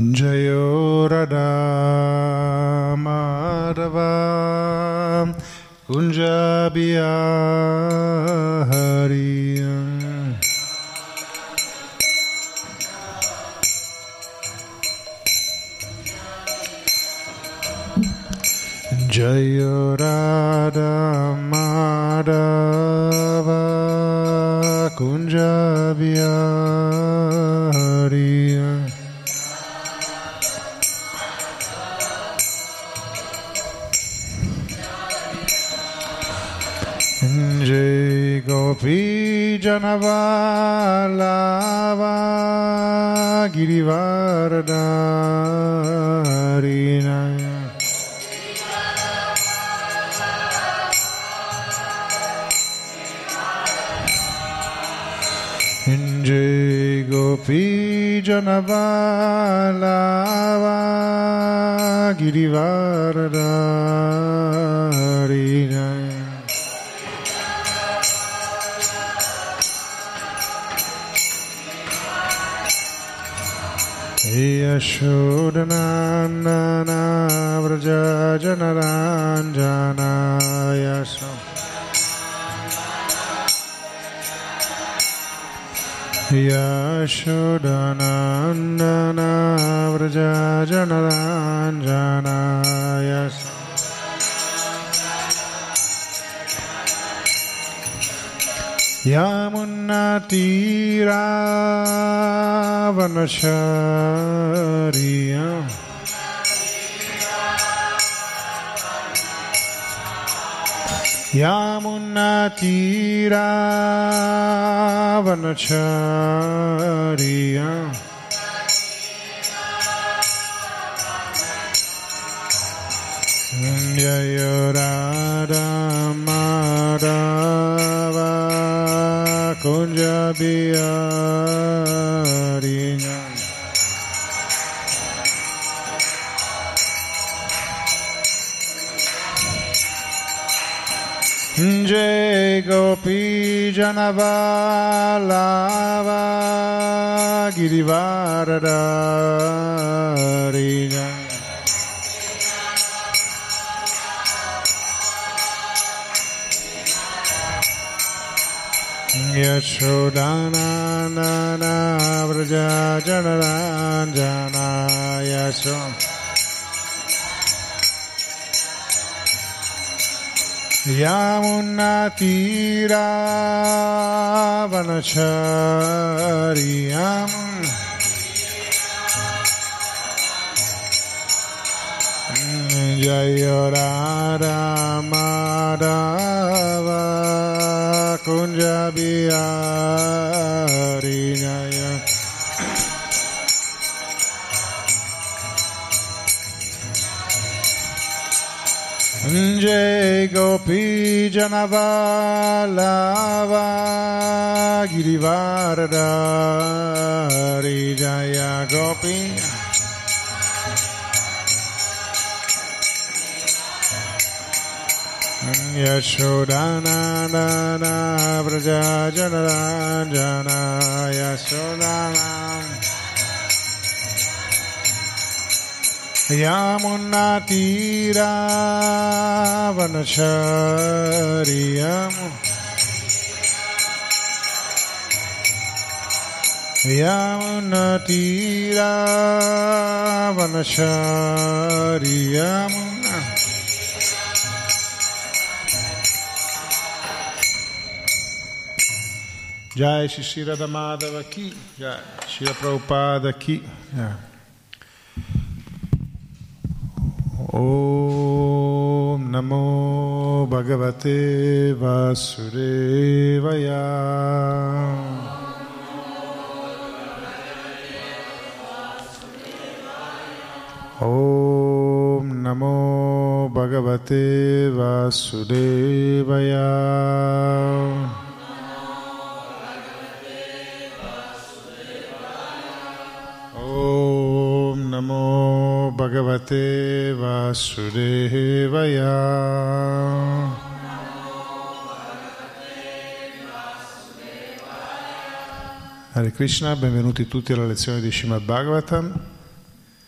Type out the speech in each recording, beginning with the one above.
Jayo Radha Madhava Kunja Bihari Jayo Radha Madhava Kunja Bihari Jai Gopi Janavallabha Girivardharina Jai Gopi Janavallabha Girivardharina Yashodanandana Vraja Janaranjana Yashodanandana Vraja Janaranjana Yamuna Tira Vanashariya Yamuna Tira Vanashariya Jaya Radha Madhava Kunja Bihari Jai Gopi Janavallabha Girivardharina Yashodanandana Vraja Janaranjana Yamuna Tira Vanachariyam Jaya Radha Madhava Kunja Bihari Jai Gopi Janavallabha Girivardhari Jaya Gopi Yashodanandana Vraja Janaranjana Yashodanam Yamuna Tira Vanachariyam Yamuna Tira Vanachariyam Jai Shri Radha Madhava Ki Jai Shri Prabhupada Ki Jai. Om Namo Bhagavate Vasudevaya Om Namo Bhagavate Vasudevaya Om Namo Bhagavate Vasudevaya Hare Krishna, benvenuti tutti alla lezione di Srimad Bhagavatam.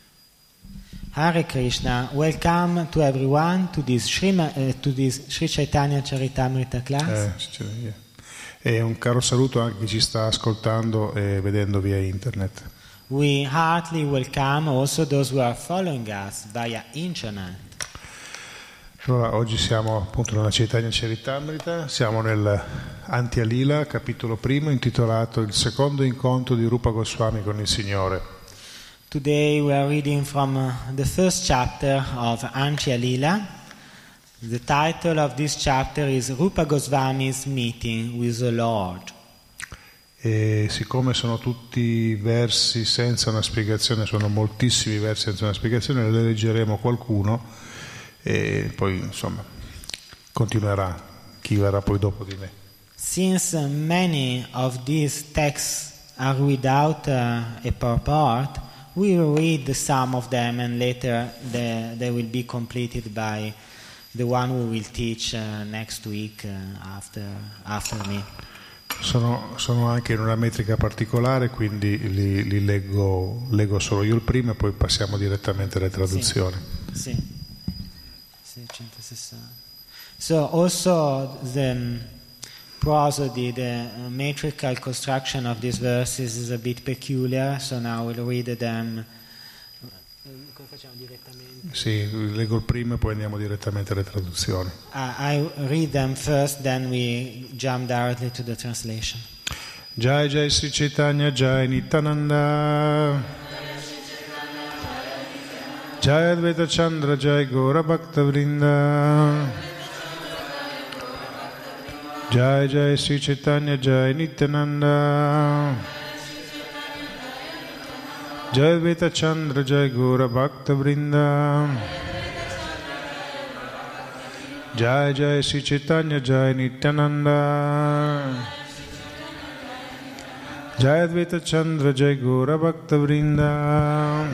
Hare Krishna, welcome to everyone to this Sri Chaitanya Charitamrita class. E un caro saluto anche a chi ci sta ascoltando e vedendo via internet. We heartily welcome also those who are following us via internet. Allora, oggi siamo appunto nella Chaitanya Charitamrita, siamo nel Antya Lila, capitolo primo, intitolato Il secondo incontro di Rupa Goswami con il Signore. Today we are reading from the first chapter of Antya Lila. The title of this chapter is Rupa Goswami's Meeting with the Lord. E siccome sono tutti versi senza una spiegazione, sono moltissimi versi senza una spiegazione, ne leggeremo qualcuno e poi insomma continuerà chi verrà poi dopo di me. Since many of these texts are without a purport, we will read some of them and later they will be completed by the one who will teach next week after me. Sono anche in una metrica particolare, quindi li leggo solo io il primo e poi passiamo direttamente alle traduzioni. Sì. 660. So also the prosody, the metrical construction of these verses is a bit peculiar, so now we'll read them. Come facciamo direttamente? Sì, leggo il primo e poi andiamo direttamente alle traduzioni. I read them first, then we jump directly to the translation. Jai Jai Sri Chaitanya Jai Nityananda Jai Advaita Chandra Jai Gaura Bhakta Vrinda Jai Jai Sri Chaitanya Jai Nityananda Jai Advaita Chandra Jai Gaura Bhakta Vrinda Jai Jai Sri Chaitanya Jai Nityananda Jai Advaita Chandra Jai Gaura Bhakta Vrinda.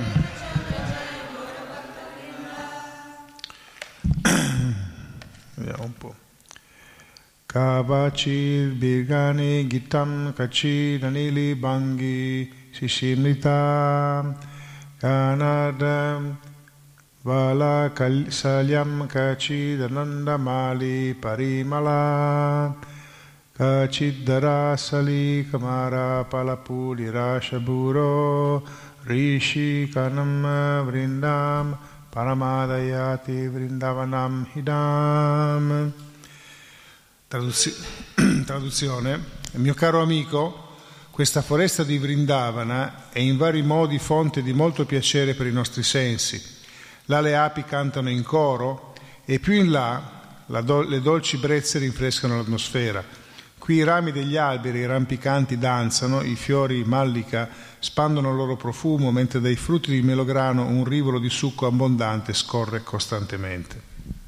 Vediamo un po'. Kavachir Birgani Gitam Kachir Anili Bangi Sishimlita Kanadam Vala Salyam Kachir Anandamali Parimala Kachidara Sali Kamara Palapuli Rashaburo Rishi Kanam Vrindam Paramadayati Vrindavanam Hidam. Traduzione. Mio caro amico, questa foresta di Vrindavana è in vari modi fonte di molto piacere per i nostri sensi. Là le api cantano in coro e più in là le dolci brezze rinfrescano l'atmosfera. Qui i rami degli alberi rampicanti danzano, i fiori mallika spandono il loro profumo, mentre dai frutti di melograno un rivolo di succo abbondante scorre costantemente.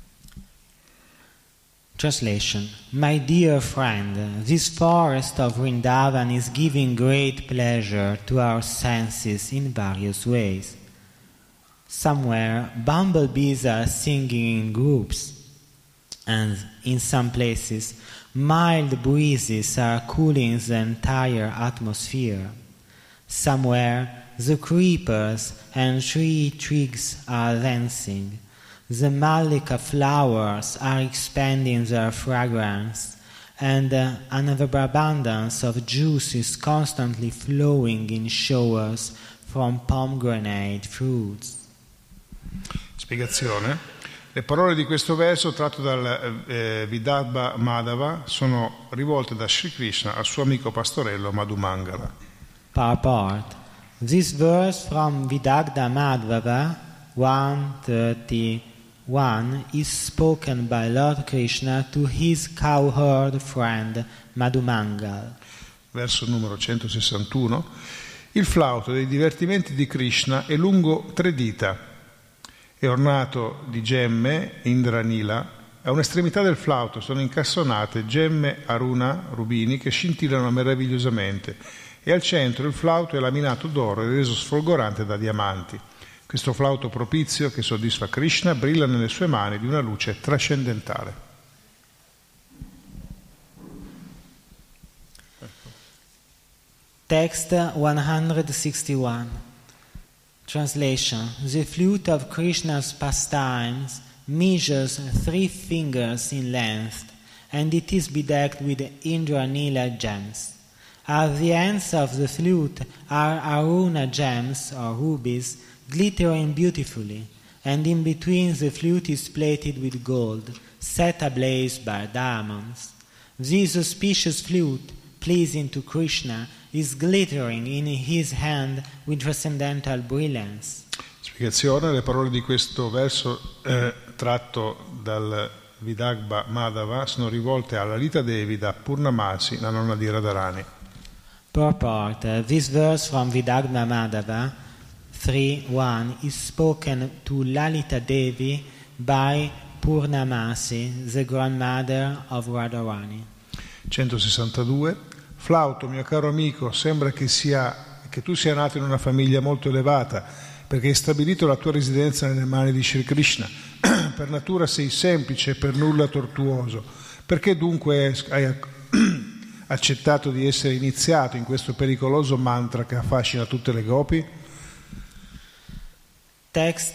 Translation. My dear friend, this forest of Vrindavan is giving great pleasure to our senses in various ways. Somewhere, bumblebees are singing in groups, and in some places, mild breezes are cooling the entire atmosphere. Somewhere, the creepers and tree twigs are dancing. The mallika flowers are expanding their fragrance, and an overabundance of juice is constantly flowing in showers from pomegranate fruits. Spiegazione. Le parole di questo verso, tratto dal Vidarbha Madhava, sono rivolte da Sri Krishna al suo amico pastorello Madhumangala. Purport. This verse from Vidarbha Madhava 131 is spoken by Lord Krishna to his cowherd friend Madhumangal. Verso numero 161. Il flauto dei divertimenti di Krishna è lungo 3 dita, è ornato di gemme Indranila. A un'estremità del flauto sono incastonate gemme Aruna, rubini, che scintillano meravigliosamente, e al centro il flauto è laminato d'oro e reso sfolgorante da diamanti. Questo flauto propizio che soddisfa Krishna brilla nelle sue mani di una luce trascendentale. Text 161. Translation. The flute of Krishna's pastimes measures 3 fingers in length, and it is bedecked with Indranila gems. At the ends of the flute are Aruna gems, or rubies, glittering beautifully, and in between the flute is plated with gold, set ablaze by diamonds. This auspicious flute, pleasing to Krishna, is glittering in his hand with transcendental brilliance. Spiegazione: le parole di questo verso tratto dal Vidagba Madhava sono rivolte alla Lita Devi da Purnamasi, la nonna di Radharani. Purport. This verse from Vidagba Madhava 3.1 is spoken to Lalita Devi by Purnamasi, the grandmother of Radharani. 162. Flauto, mio caro amico, sembra che tu sia nato in una famiglia molto elevata, perché hai stabilito la tua residenza nelle mani di Sri Krishna. Per natura sei semplice e per nulla tortuoso. Perché dunque hai accettato di essere iniziato in questo pericoloso mantra che affascina tutte le gopi? Text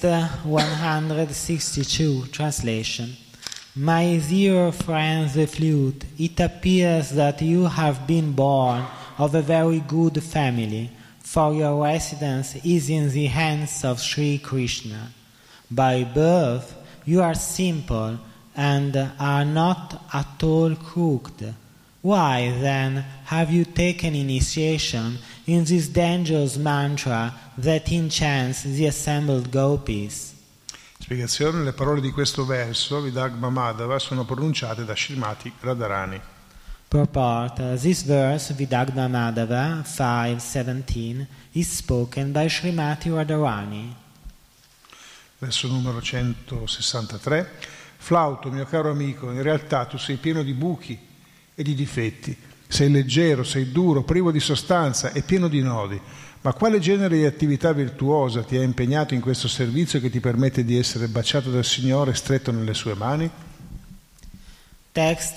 162, translation. My dear friend the flute, it appears that you have been born of a very good family, for your residence is in the hands of Sri Krishna. By birth you are simple and are not at all crooked. Why then have you taken initiation in this dangerous mantra that enchants the assembled gopis? Spiegazione: le parole di questo verso, Vidagba Madhava, sono pronunciate da Srimati Radharani. Purport. This verse, Vidagba Madhava 5.17, is spoken by Srimati Radharani. Verso numero 163. Flauto, mio caro amico, in realtà tu sei pieno di buchi e di difetti. Sei leggero, sei duro, privo di sostanza e pieno di nodi. Ma quale genere di attività virtuosa ti ha impegnato in questo servizio che ti permette di essere baciato dal Signore e stretto nelle sue mani? Text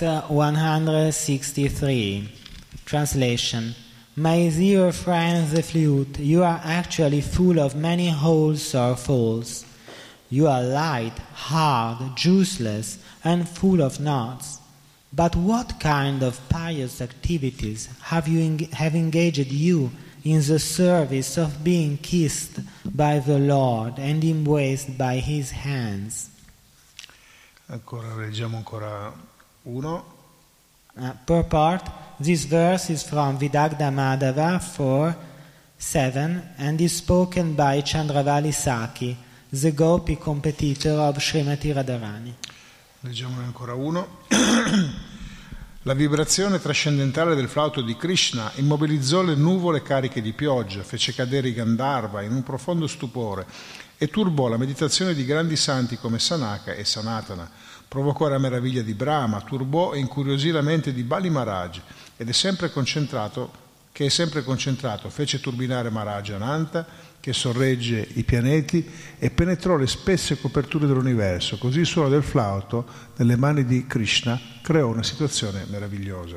163. Translation. My dear friend the flute, you are actually full of many holes or faults. You are light, hard, juiceless, and full of knots. But what kind of pious activities have engaged you in the service of being kissed by the Lord and embraced by His hands? Leggiamo ancora uno. Purport. This verse is from Vidagda Madhava 4.7 and is spoken by Chandravali Saki, the Gopi competitor of Srimati Radharani. Leggiamone ancora uno. La vibrazione trascendentale del flauto di Krishna immobilizzò le nuvole cariche di pioggia, fece cadere i Gandharva in un profondo stupore e turbò la meditazione di grandi santi come Sanaka e Sanatana, provocò la meraviglia di Brahma, turbò e incuriosì la mente di Bali Maharaj che è sempre concentrato, fece turbinare Maharaja Ananta, che sorregge i pianeti, e penetrò le spesse coperture dell'universo. Così il suono del flauto nelle mani di Krishna creò una situazione meravigliosa.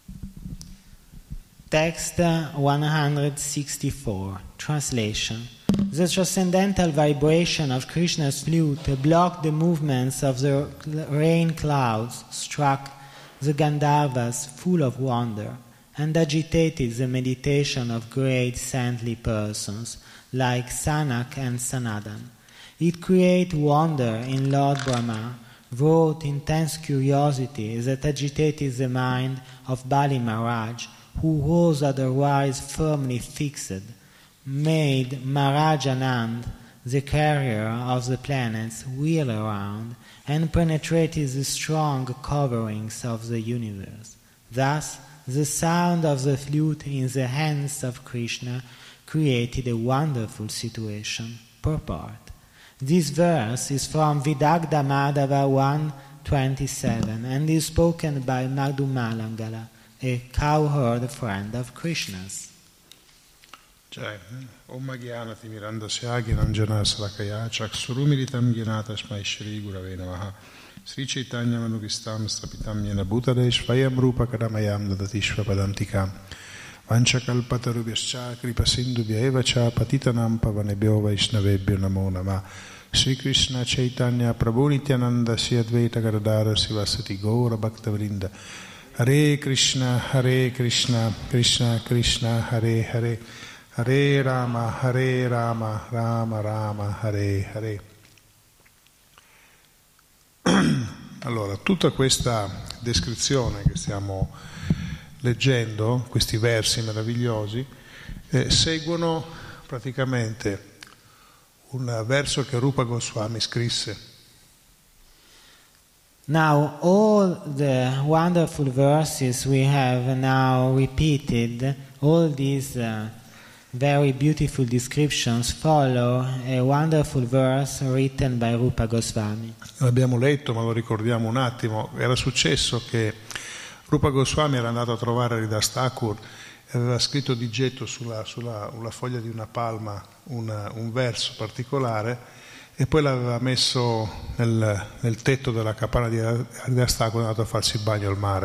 Text 164, translation. The transcendental vibration of Krishna's flute blocked the movements of the rain clouds, struck the Gandharvas full of wonder, and agitated the meditation of great saintly persons like Sanak and Sanatan. It created wonder in Lord Brahma, wrought intense curiosity that agitated the mind of Bali Maharaj, who was otherwise firmly fixed, made Maharaj Anand, the carrier of the planets, wheel around, and penetrated the strong coverings of the universe. Thus, the sound of the flute in the hands of Krishna created a wonderful situation. Purport. This verse is from Vidagda Madhava 1.27 and is spoken by Madhu Malangala, a cowherd friend of Krishna's. Om Gyanati Mirandasya Gyananjana Salakaya Chaksurumilitam Gyanata Shmai Shri Gurave Namaha Sri Chaitanya Manugistam Stapitam Yena Bhutale Svayam Rupa Kadamayam Dadatishva Padantikam Vanchakalpatarubhyascha kripasindubhya eva cha patitanam pavanebhyo vaishnavebhyo namo namah. Sri Krishna Chaitanya Prabhu Nityananda Sri Advaita Gadadhara Sivasati Gaura Bhaktavrinda. Hare Krishna Krishna Krishna Hare Hare, Hare Rama Rama Rama Hare Hare. Allora, tutta questa descrizione che stiamo leggendo, questi versi meravigliosi, seguono praticamente un verso che Rupa Goswami scrisse. Now all the wonderful verses we have now repeated, all these very beautiful descriptions follow a wonderful verse written by Rupa Goswami. L'abbiamo letto, ma lo ricordiamo un attimo. Era successo che Rupa Goswami era andato a trovare Haridas Thakur e aveva scritto di getto sulla foglia di una palma un verso particolare e poi l'aveva messo nel tetto della capanna di Haridas Thakur e è andato a farsi il bagno al mare.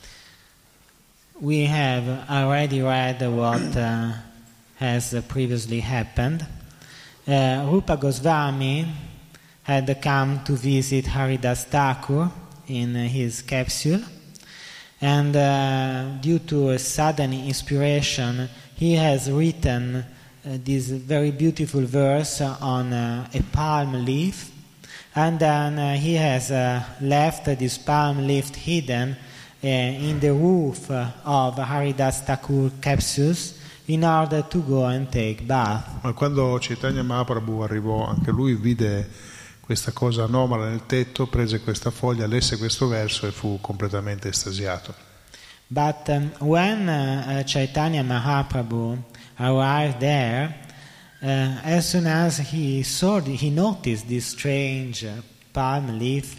We have already read what has previously happened. Rupa Goswami had come to visit Haridas Thakur in his capsule, and due to a sudden inspiration he has written this very beautiful verse on a palm leaf, and then he has left this palm leaf hidden in the roof of Haridas Thakur capsules in order to go and take bath. Ma quando Chaitanya Mahaprabhu arrivò, anche lui vide questa cosa anomala nel tetto, prese questa foglia, lesse questo verso e fu completamente estasiato. But when Chaitanya Mahaprabhu arrived there, as soon as he noticed this strange palm leaf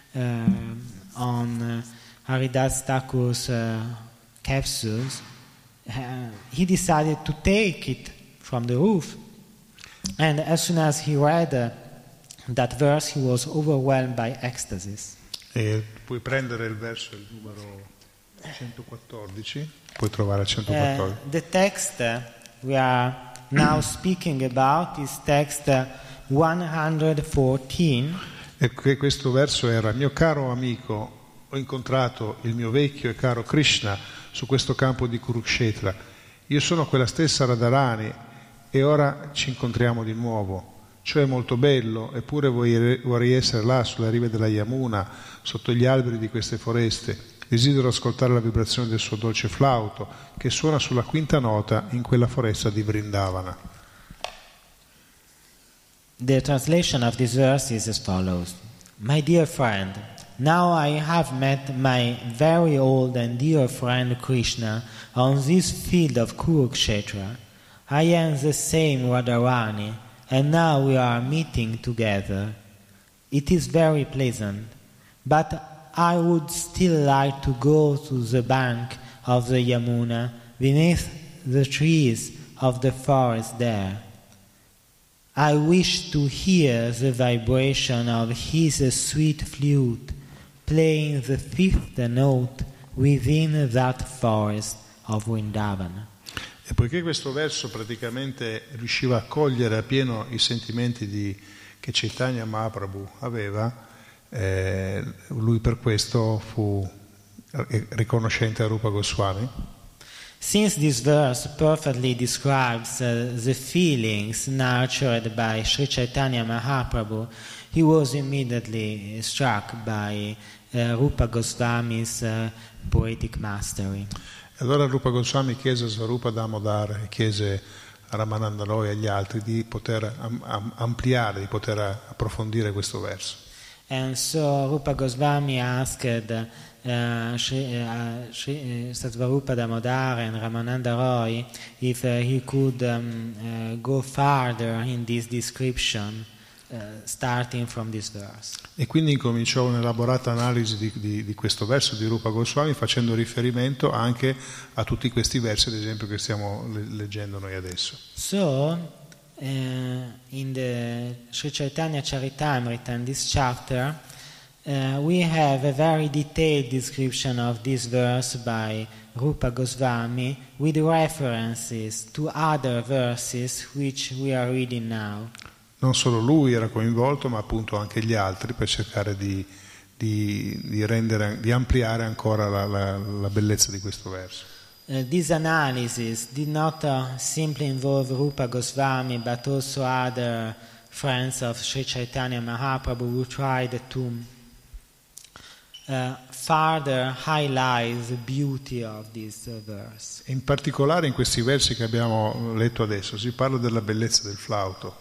on Haridas Thakur's capsules, he decided to take it from the roof. And as soon as he read that verse, he was overwhelmed by ecstasy. E puoi prendere il verso, il numero 114, puoi trovare 114. The text we are now speaking about is text 114. E questo verso era: mio caro amico, ho incontrato il mio vecchio e caro Krishna su questo campo di Kurukshetra. Io sono quella stessa Radharani e ora ci incontriamo di nuovo. Ciò è molto bello, eppure vorrei essere là sulle rive della Yamuna, sotto gli alberi di queste foreste. Desidero ascoltare la vibrazione del suo dolce flauto che suona sulla quinta nota in quella foresta di Vrindavana. The translation of this verse is as follows. My dear friend, now I have met my very old and dear friend Krishna on this field of Kurukshetra. I am the same Radharani, and now we are meeting together. It is very pleasant, but I would still like to go to the bank of the Yamuna beneath the trees of the forest there. I wish to hear the vibration of his sweet flute playing the fifth note within that forest of Vrindavana. E poiché questo verso praticamente riusciva a cogliere appieno i sentimenti che Chaitanya Mahaprabhu aveva, lui per questo fu riconoscente a Rupa Goswami. Since this verse perfectly describes the feelings nurtured by Sri Chaitanya Mahaprabhu, he was immediately struck by Rupa Goswami's poetic mastery. Allora Rupa Goswami chiese a Svarupa Damodar e chiese a Ramananda Roy e agli altri di poter ampliare, di poter approfondire questo verso. And so Rupa Goswami asked Svarupa Damodar and Ramananda Roy if he could go farther in this description, starting from this verse. E quindi incominciò un'elaborata analisi di questo verso di Rupa Goswami, facendo riferimento anche a tutti questi versi, ad esempio, che stiamo leggendo noi adesso. So in the Sri Chaitanya Charitamrita, in this chapter, We have a very detailed description of this verse by Rupa Goswami with references to other verses which we are reading now. Non solo lui era coinvolto, ma appunto anche gli altri, per cercare di ampliare ancora la bellezza di questo verso. This analysis did not simply involve Rupa Goswami, but also other friends of Sri Chaitanya Mahaprabhu who tried to further highlight the beauty of this verse. In particolare in questi versi che abbiamo letto adesso si parla della bellezza del flauto.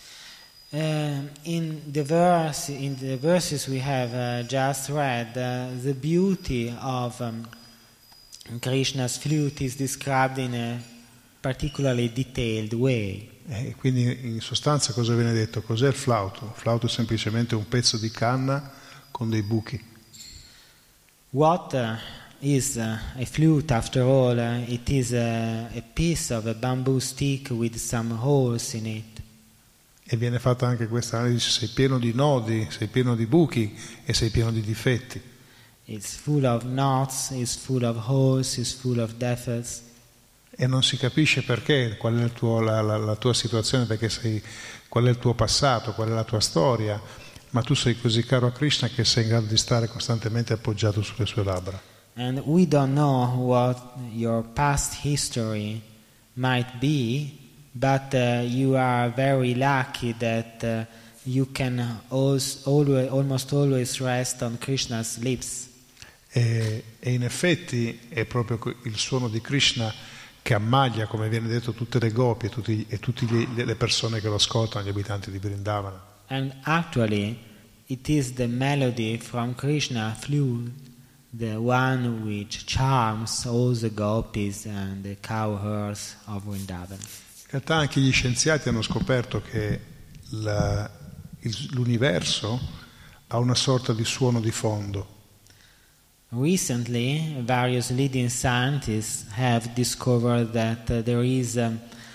In the verses we have just read, the beauty of Krishna's flute is described in a particularly detailed way. E quindi in sostanza cosa viene detto? Cos'è il flauto? Il flauto è semplicemente un pezzo di canna con dei buchi. What is a flute after all? It is a piece of a bamboo stick with some holes in it. E viene fatta anche questa analisi: sei pieno di nodi, sei pieno di buchi e sei pieno di difetti. It's full of knots, it's full of holes, it's full of defects. E non si capisce perché, qual è la tua situazione, qual è il tuo passato, qual è la tua storia, ma tu sei così caro a Krishna che sei in grado di stare costantemente appoggiato sulle sue labbra. And we don't know what your past history might be, but you are very lucky that you can almost always rest on Krishna's lips. E in effetti è proprio il suono di Krishna che ammaglia, come viene detto, tutte le gopi e tutte le persone che lo ascoltano, gli abitanti di Vrindavana. And actually it is the melody from Krishna flute, the one which charms all the gopis and the cowherds of Vrindavan. In realtà anche gli scienziati hanno scoperto che l'universo ha una sorta di suono di fondo. Recently, various leading scientists have discovered that there is a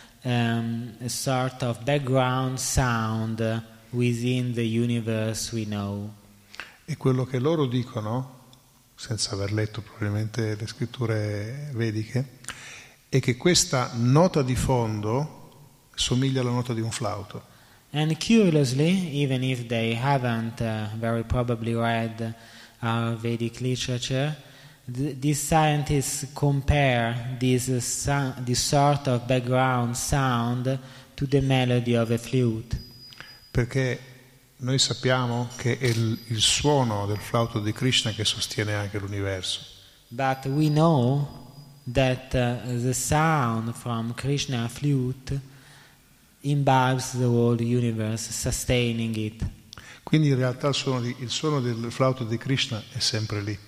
sort of background sound within the universe we know. E quello che loro dicono, senza aver letto probabilmente le scritture vediche, è che questa nota di fondo somiglia alla nota di un flauto. And curiously, even if they haven't very probably read Vedic literature, these scientists compare this sort of background sound to the melody of a flute. Perché noi sappiamo che è il suono del flauto di Krishna che sostiene anche l'universo. But we know that the sound from Krishna flute imbibes the whole universe, sustaining it. Quindi in realtà il suono del flauto di Krishna è sempre lì.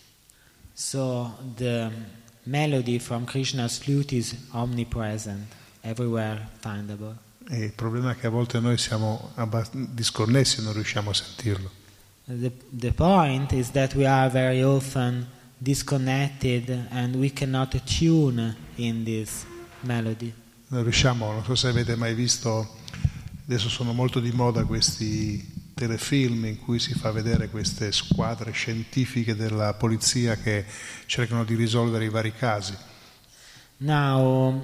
So the melody from Krishna's flute is omnipresent, everywhere findable. E il problema è che a volte noi siamo disconnessi e non riusciamo a sentirlo. The point is that we are very often disconnected and we cannot tune in this melody. Non so se avete mai visto, adesso sono molto di moda questi telefilm in cui si fa vedere queste squadre scientifiche della polizia che cercano di risolvere i vari casi. Now,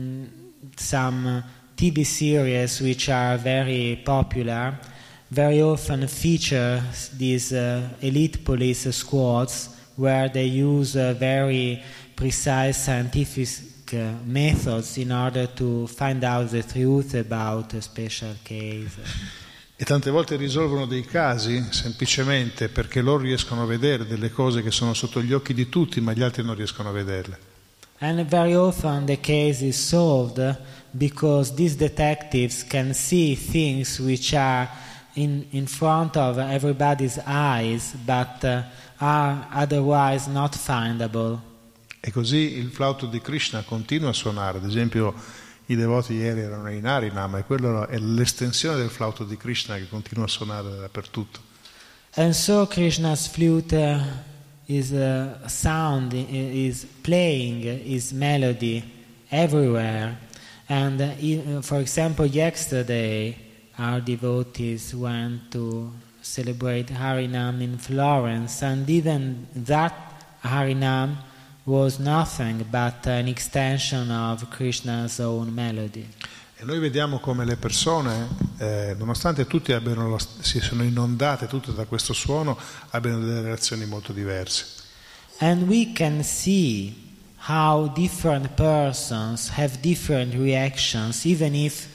some TV series which are very popular very often feature these elite police squads where they use very precise scientific methods in order to find out the truth about a special case. E tante volte risolvono dei casi semplicemente perché loro riescono a vedere delle cose che sono sotto gli occhi di tutti, ma gli altri non riescono a vederle. And very often the case is solved because these detectives can see things which are in front of everybody's eyes, but are otherwise not findable. E così il flauto di Krishna continua a suonare. Ad esempio, i devoti ieri erano in Harinam e quello è l'estensione del flauto di Krishna che continua a suonare dappertutto. And so Krishna's flute is sound, is playing his melody everywhere. And for example, yesterday our devotees went to celebrate Harinam in Florence, and even that Harinam was nothing but an extension of Krishna's own melody. E noi vediamo come le persone, nonostante tutti si sono inondate tutte da questo suono, abbiano delle reazioni molto diverse. And we can see how different persons have different reactions, even if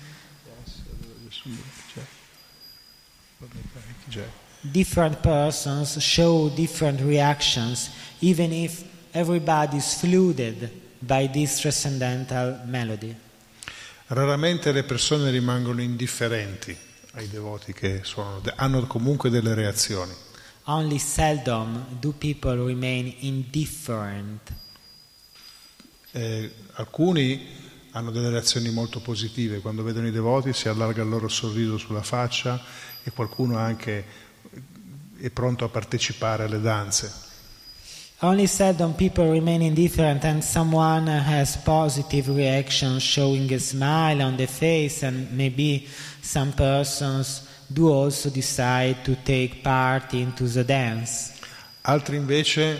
different persons show different reactions, even if everybody is flooded by this transcendental melody. Raramente le persone rimangono indifferenti ai devoti che suonano, hanno comunque delle reazioni. Only seldom do people remain indifferent. Alcuni hanno delle reazioni molto positive, quando vedono i devoti si allarga il loro sorriso sulla faccia e qualcuno anche è pronto a partecipare alle danze. Only seldom people remain indifferent, and someone has positive reaction, showing a smile on the face, and maybe some persons do also decide to take part into the dance. Altri invece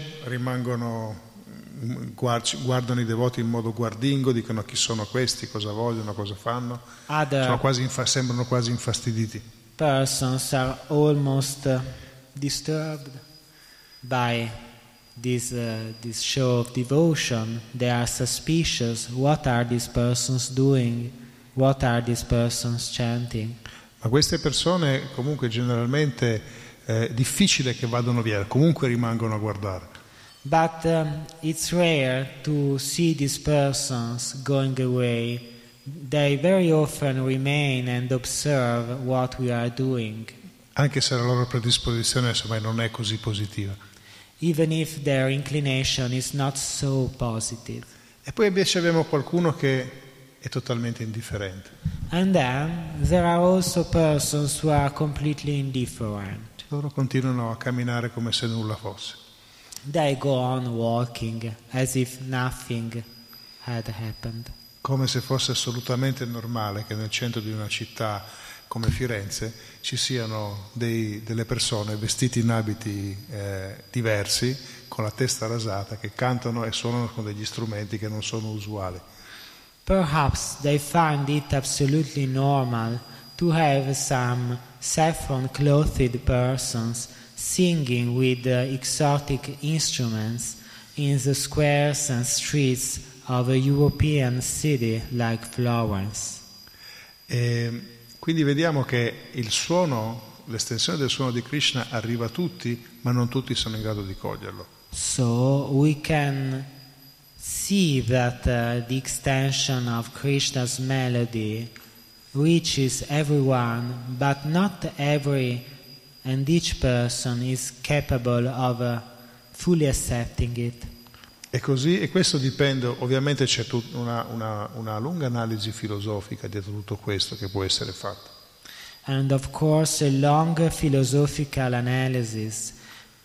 guardano i devoti in modo guardingo, dicono chi sono questi, cosa vogliono, cosa fanno. Sembrano quasi infastiditi. Persons are almost disturbed by this show of devotion. They are suspicious. What are these persons doing? What are these persons chanting? Ma queste persone comunque generalmente è difficile che vadano via, comunque rimangono a guardare. But it's rare to see these persons going away. They very often remain and observe what we are doing. Anche se la loro predisposizione insomma non è così positiva. Even if their inclination is not so positive. E poi invece abbiamo qualcuno che è totalmente indifferente. And then there are also persons who are completely indifferent. Loro continuano a camminare come se nulla fosse. They go on walking as if nothing had happened. Come se fosse assolutamente normale che nel centro di una città come Firenze ci siano delle persone vestite in abiti diversi, con la testa rasata, che cantano e suonano con degli strumenti che non sono usuali. Perhaps they find it absolutely normal to have some saffron-clothed persons singing with exotic instruments in the squares and streets of a European city like Florence. Quindi vediamo che il suono, l'estensione del suono di Krishna arriva a tutti, ma non tutti sono in grado di coglierlo. So we can see that the extension of Krishna's melody reaches everyone, but not every and each person is capable of fully accepting it. E così, e questo dipende, ovviamente c'è una lunga analisi filosofica dietro tutto questo che può essere fatta. And of course a long philosophical analysis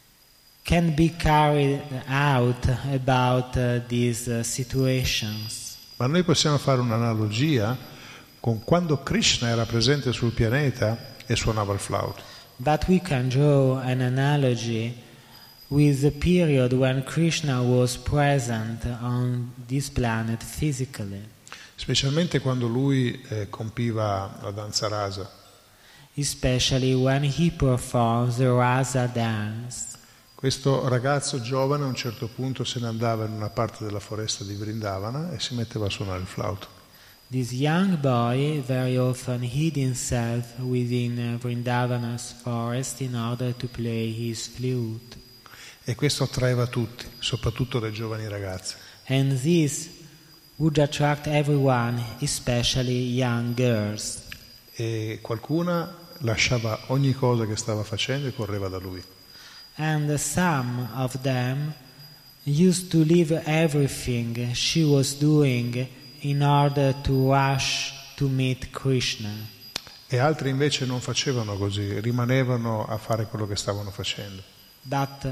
can be carried out about these situations. Ma noi possiamo fare un'analogia con quando Krishna era presente sul pianeta e suonava il flauto. But we can draw an analogy with the period when Krishna was present on this planet physically. Specialmente quando lui compiva la danza rasa. Especially when he performs the rasa dance. Questo ragazzo giovane a un certo punto se ne andava in una parte della foresta di Vrindavana e si metteva a suonare il flauto. This young boy very often hid himself within Vrindavana's forest in order to play his flute. E questo attraeva tutti, soprattutto le giovani ragazze. And this would attract everyone, especially young girls. E qualcuna lasciava ogni cosa che stava facendo e correva da lui. And some of them used to leave everything she was doing in order to rush to meet Krishna. E altri invece non facevano così, rimanevano a fare quello che stavano facendo. But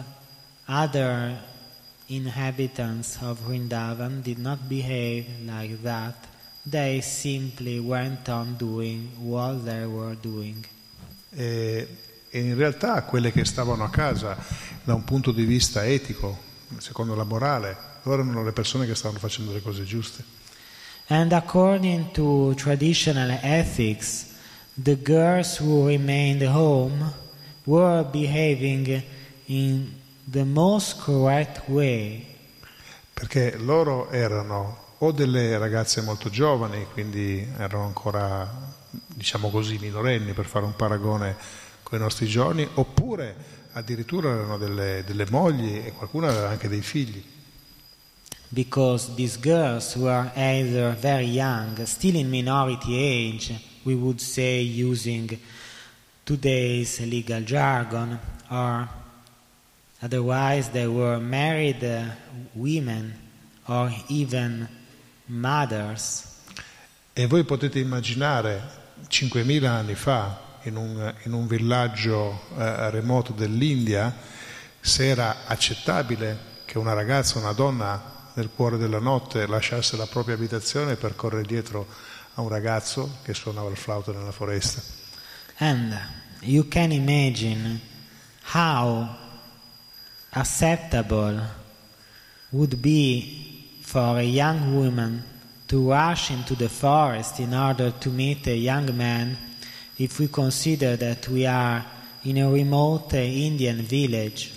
other inhabitants of Vrindavan did not behave like that. They simply went on doing what they were doing. E e in realtà quelle che stavano a casa da un punto di vista etico, secondo la morale, loro erano le persone che stavano facendo le cose giuste. And according to traditional ethics, the girls who remained home were behaving in the most correct way. Perché loro erano o delle ragazze molto giovani, quindi erano ancora, diciamo così, minorenni per fare un paragone con i nostri giorni, oppure addirittura erano delle mogli e qualcuno aveva anche dei figli. Because these girls were either very young, still in minority age, we would say using today's legal jargon, or otherwise they were married women or even mothers. E voi potete immaginare 5.000 anni fa in un villaggio remoto dell'India se era accettabile che una ragazza, una donna nel cuore della notte lasciasse la propria abitazione per correre dietro a un ragazzo che suonava il flauto nella foresta. And you can imagine how acceptable would be for a young woman to rush into the forest in order to meet a young man if we consider that we are in a remote Indian village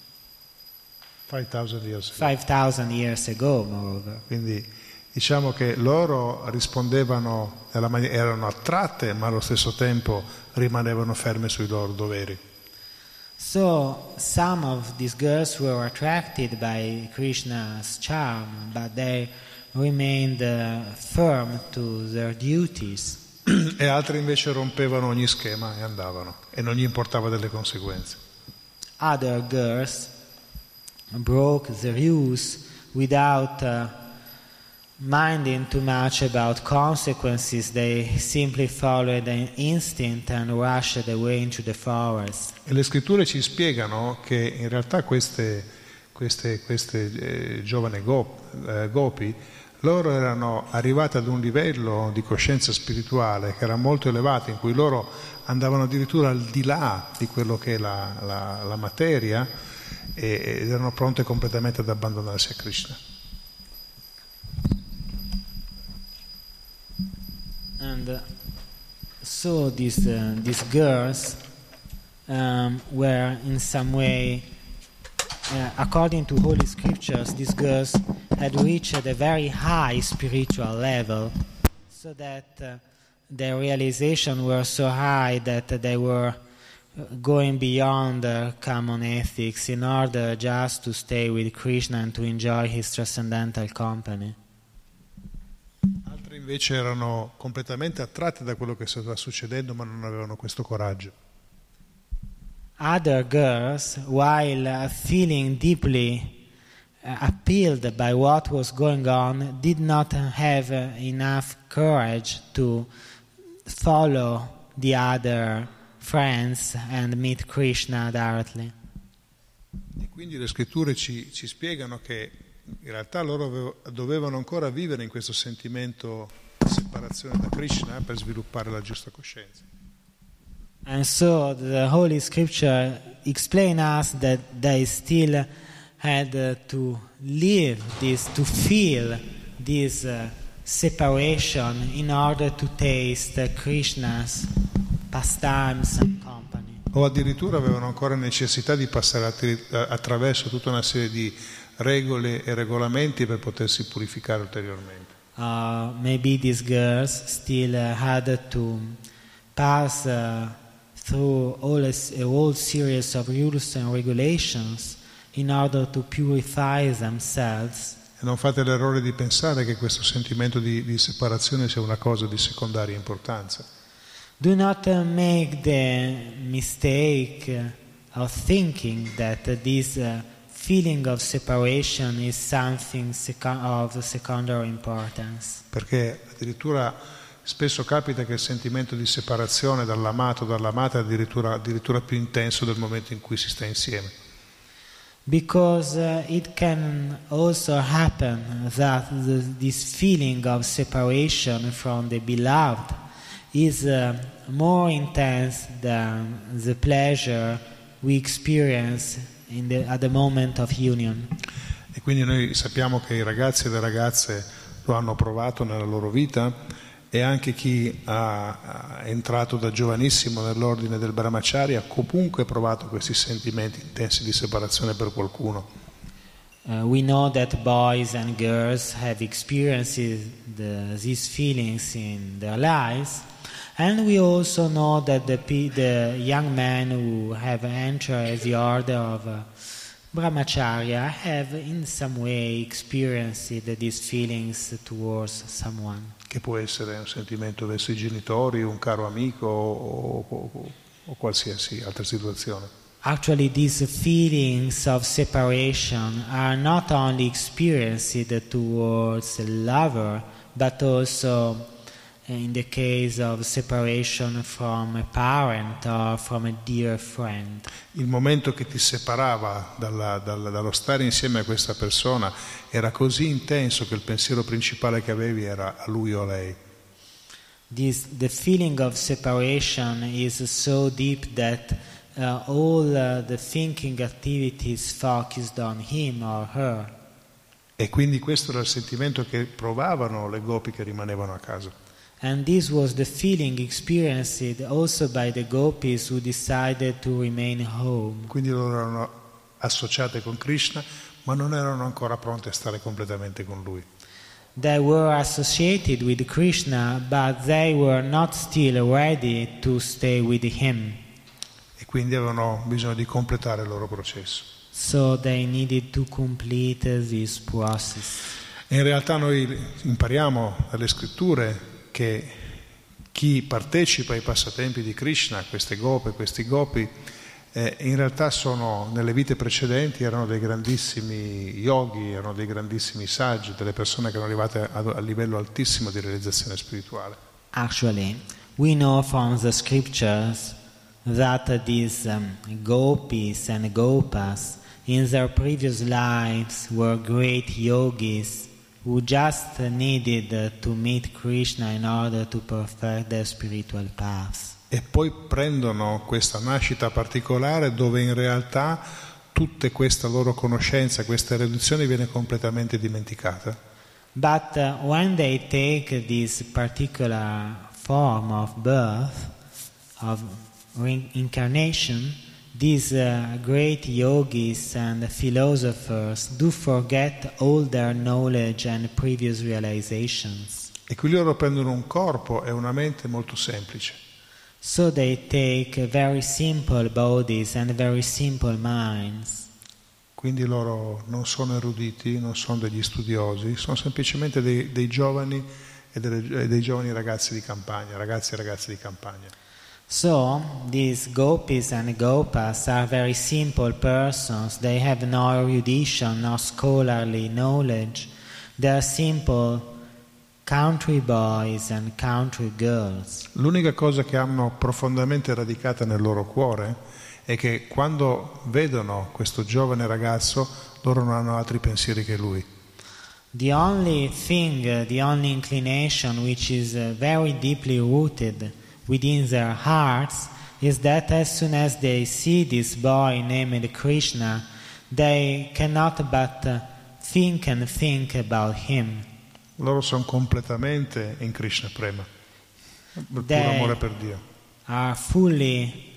5,000 years ago, moreover. Quindi diciamo che loro rispondevano erano attratte, ma allo stesso tempo rimanevano ferme sui loro doveri. So some of these girls were attracted by Krishna's charm, but they remained firm to their duties. E altre invece rompevano ogni schema e andavano, e non gli importava delle conseguenze. Other girls broke the rules without minding too much about consequences. They simply followed an instinct and rushed away into the forest. E le scritture ci spiegano che in realtà queste giovani gopi, loro erano arrivate ad un livello di coscienza spirituale che era molto elevato, in cui loro andavano addirittura al di là di quello che è la materia ed erano pronte completamente ad abbandonarsi a Krishna. And so these girls were in some way, according to Holy Scriptures, these girls had reached a very high spiritual level, so that their realization were so high that they were going beyond common ethics in order just to stay with Krishna and to enjoy his transcendental company. Altri invece erano completamente attratti da quello che stava succedendo, ma non avevano questo coraggio. Other girls, while feeling deeply appealed by what was going on, did not have enough courage to follow the other friends and meet Krishna directly. E quindi le scritture ci spiegano che in realtà loro dovevano ancora vivere in questo sentimento di separazione da Krishna per sviluppare la giusta coscienza. And so the Holy Scripture explains us that they still had to live this, to feel this separation in order to taste Krishna's pastimes and company. O addirittura avevano ancora necessità di passare attraverso tutta una serie di regole e regolamenti per potersi purificare ulteriormente. Maybe these girls still had to pass through a whole series of rules and regulations in order to purify themselves. E non fate l'errore di pensare che questo sentimento di separazione sia una cosa di secondaria importanza. Do not make the mistake of thinking that this feeling of separation is something of secondary importance. Perché addirittura spesso capita che il sentimento di separazione dall'amato o dall'amata è addirittura più intenso del momento in cui si sta insieme. Because it can also happen that this feeling of separation from the beloved is more intense than the pleasure we experience at the moment of union. E quindi noi sappiamo che i ragazzi e le ragazze lo hanno provato nella loro vita, e anche chi è entrato da giovanissimo nell'ordine del Brahmacharya ha comunque provato questi sentimenti intensi di separazione per qualcuno. We know that boys and girls have experienced these feelings in their lives, and we also know that the young men who have entered the order of Brahmacharya have in some way experienced these feelings towards someone. Che può essere un sentimento verso i genitori, un caro amico o qualsiasi altra situazione. Actually, these feelings of separation are not only experienced towards a lover, but also in the case of separation from a parent or from a dear friend. Il momento che ti separava dallo stare insieme a questa persona era così intenso che il pensiero principale che avevi era a lui o a lei. The feeling of separation is so deep that all the thinking activities focused on him or her. E quindi questo era il sentimento che provavano le gopi che rimanevano a casa. And this was the feeling experienced also by the gopis who decided to remain home. Quindi loro erano associate con Krishna, ma non erano ancora pronte a stare completamente con lui. They were associated with Krishna, but they were not still ready to stay with him. E quindi avevano bisogno di completare il loro processo. So they needed to complete this process. E in realtà noi impariamo dalle scritture che chi partecipa ai passatempi di Krishna, queste gope, questi gopi, in realtà sono, nelle vite precedenti, erano dei grandissimi yogi, erano dei grandissimi saggi, delle persone che erano arrivate a livello altissimo di realizzazione spirituale. Actually, we know from the scriptures that these gopis and gopas in their previous lives were great yogis who just needed to meet Krishna in order to perfect their spiritual paths. E poi prendono questa nascita particolare dove in realtà tutta questa loro conoscenza, questa erudizione viene completamente dimenticata. But when they take this particular form of birth, of reincarnation, these great yogis and philosophers do forget all their knowledge and previous realizations. E qui loro prendono un corpo e una mente molto semplice. So they take very simple bodies and very simple minds. Quindi loro non sono eruditi, non sono degli studiosi, sono semplicemente dei giovani e dei giovani ragazzi di campagna, ragazzi e ragazze di campagna. So, these gopis and gopas are very simple persons. They have no erudition, no scholarly knowledge. They are simple country boys and country girls. L'unica cosa che hanno profondamente radicata nel loro cuore è che quando vedono questo giovane ragazzo, loro non hanno altri pensieri che lui. The only thing, the only inclination which is very deeply rooted within their hearts is that as soon as they see this boy named Krishna, they cannot but think and think about him. Loro sono completamente in Krishna Prema, per puro amore per Dio. Are fully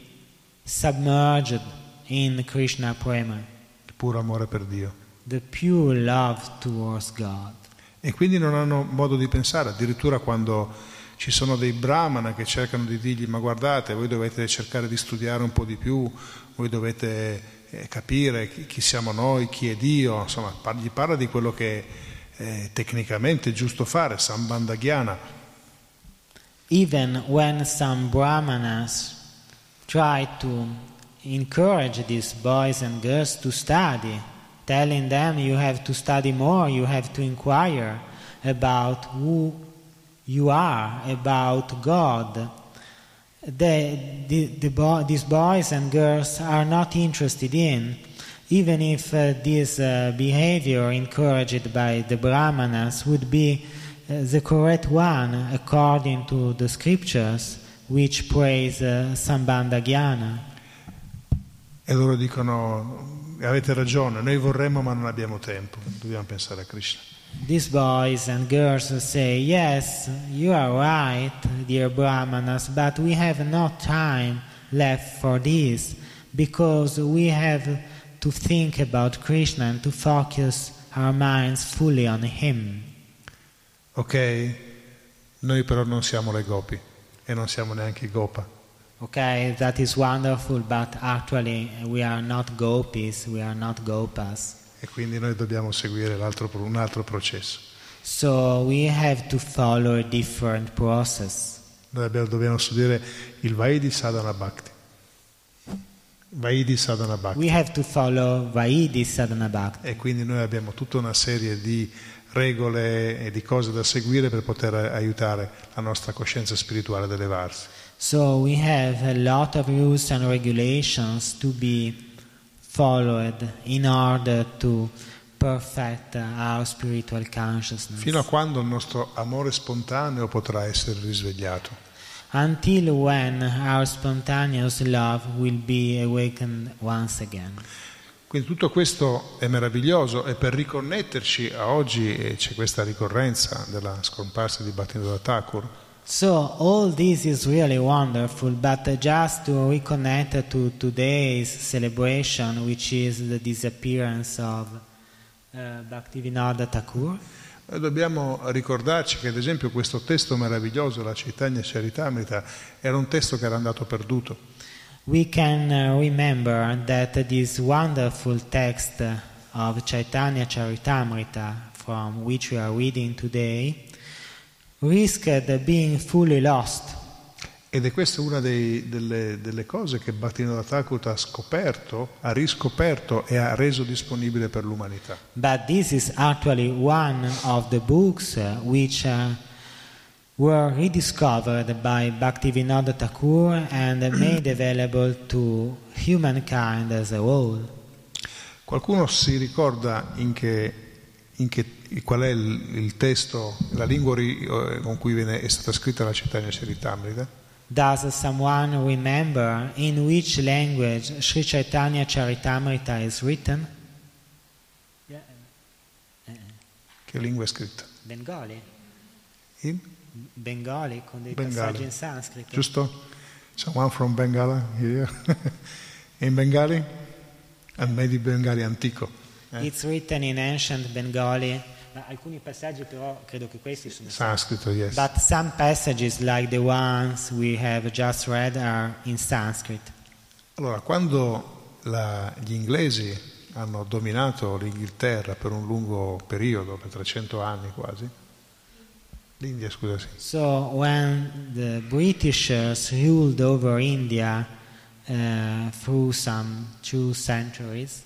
submerged in Krishna Prema, Il puro amore per Dio. the pure love towards God. E quindi non hanno modo di pensare, addirittura quando ci sono dei brahmana che cercano di dirgli: ma guardate, voi dovete cercare di studiare un po' di più, voi dovete capire chi siamo noi, chi è Dio, insomma gli parla di quello che tecnicamente è giusto fare, Sambandha-gyana. Even when some brahmanas try to encourage these boys and girls to study, telling them you have to study more, you have to inquire about who you are, about God. These boys and girls are not interested in, even if this behavior encouraged by the brahmanas would be the correct one according to the scriptures which praise Sambandha Jnana. E loro dicono: avete ragione, noi vorremmo ma non abbiamo tempo, dobbiamo pensare a Krishna. These boys and girls say, yes, you are right, dear Brahmanas, but we have no time left for this, because we have to think about Krishna and to focus our minds fully on Him. Ok, noi però non siamo le gopi e non siamo neanche i gopa. Okay, that is wonderful, but actually we are not gopis, we are not gopas. E quindi noi dobbiamo seguire un altro processo. So we have to follow a different process. Noi dobbiamo studiare il Vaidhi Sadhana Bhakti. Vaidhi Sadhana Bhakti. We have to follow Vaidhi Sadhana Bhakti. E quindi noi abbiamo tutta una serie di regole e di cose da seguire per poter aiutare la nostra coscienza spirituale ad elevarsi. So we have a lot of rules and regulations to be followed in order to perfect our spiritual consciousness. Fino a quando il nostro amore spontaneo potrà essere risvegliato. Until when our spontaneous love will be awakened once again. Quindi tutto questo è meraviglioso, e per riconnetterci a oggi c'è questa ricorrenza della scomparsa di Bhaktivinoda Thakur. So all this is really wonderful, but just to reconnect to today's celebration, which is the disappearance of Bhaktivinoda Thakur. Noi dobbiamo ricordarci che ad esempio questo testo meraviglioso, la Chaitanya Charitamrita, era un testo che era andato perduto. We can remember that this wonderful text of Chaitanya Charitamrita, from which we are reading today, risked being fully lost. Ed è questa una delle cose che Bhaktivinoda Thakur ha scoperto, ha riscoperto e ha reso disponibile per l'umanità. But this is actually one of the books which were rediscovered by Bhaktivinoda Thakur and made available to humankind as a whole. Qualcuno si ricorda qual è il testo, la lingua con cui è stata scritta la Chaitanya Charitamrita? Does someone remember in which language Sri Chaitanya Charitamrita is written? Che lingua è scritta? Bengali. In? Bengali, con dei Bengali. passaggi in sanscrito. Giusto? Someone from Bengala here? In Bengali? And maybe Bengali antico. It's written in ancient Bengali. Alcuni passaggi però credo che questi sono Sanscrito, yes. But some passages like the ones we have just read are in Sanskrit. Allora, quando gli inglesi hanno dominato l'Inghilterra per un lungo periodo, per 300 anni quasi, l'India, scusa, sì. So when the Britishers ruled over India through some 3 centuries,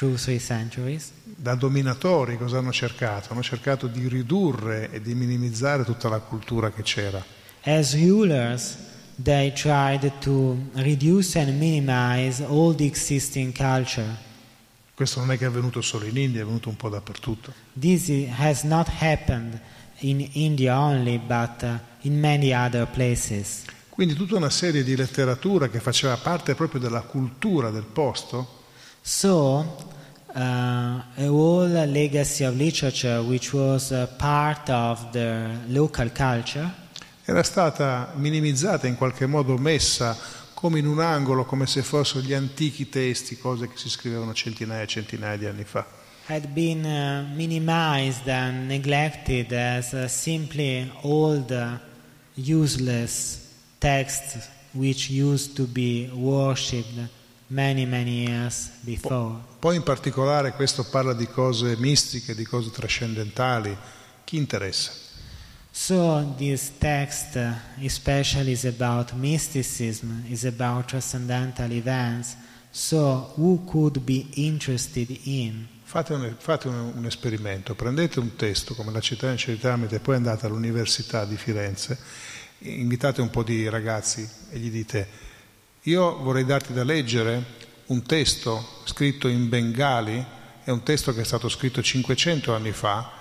da dominatori cosa hanno cercato? Hanno cercato di ridurre e di minimizzare tutta la cultura che c'era. As rulers, they tried to reduce and minimize all the existing culture. Questo non è che è avvenuto solo in India, è avvenuto un po' dappertutto. This has not happened in India only, but in many other places. Quindi tutta una serie di letteratura che faceva parte proprio della cultura del posto. So, a whole legacy of literature which was part of the local culture era stata minimizzata, in qualche modo messa come in un angolo, come se fossero gli antichi testi, cose che si scrivevano centinaia e centinaia di anni fa. Had been minimized and neglected as simply old, useless texts which used to be worshipped many years before. Poi in particolare questo parla di cose mistiche, di cose trascendentali. Chi interessa? So this text especially is about mysticism, is about transcendental events. So who could be interested in? Fate un esperimento, prendete un testo come la Chaitanya Charitamrita e poi andate all'Università di Firenze, invitate un po' di ragazzi e gli dite: io vorrei darti da leggere un testo scritto in Bengali, è un testo che è stato scritto 500 anni fa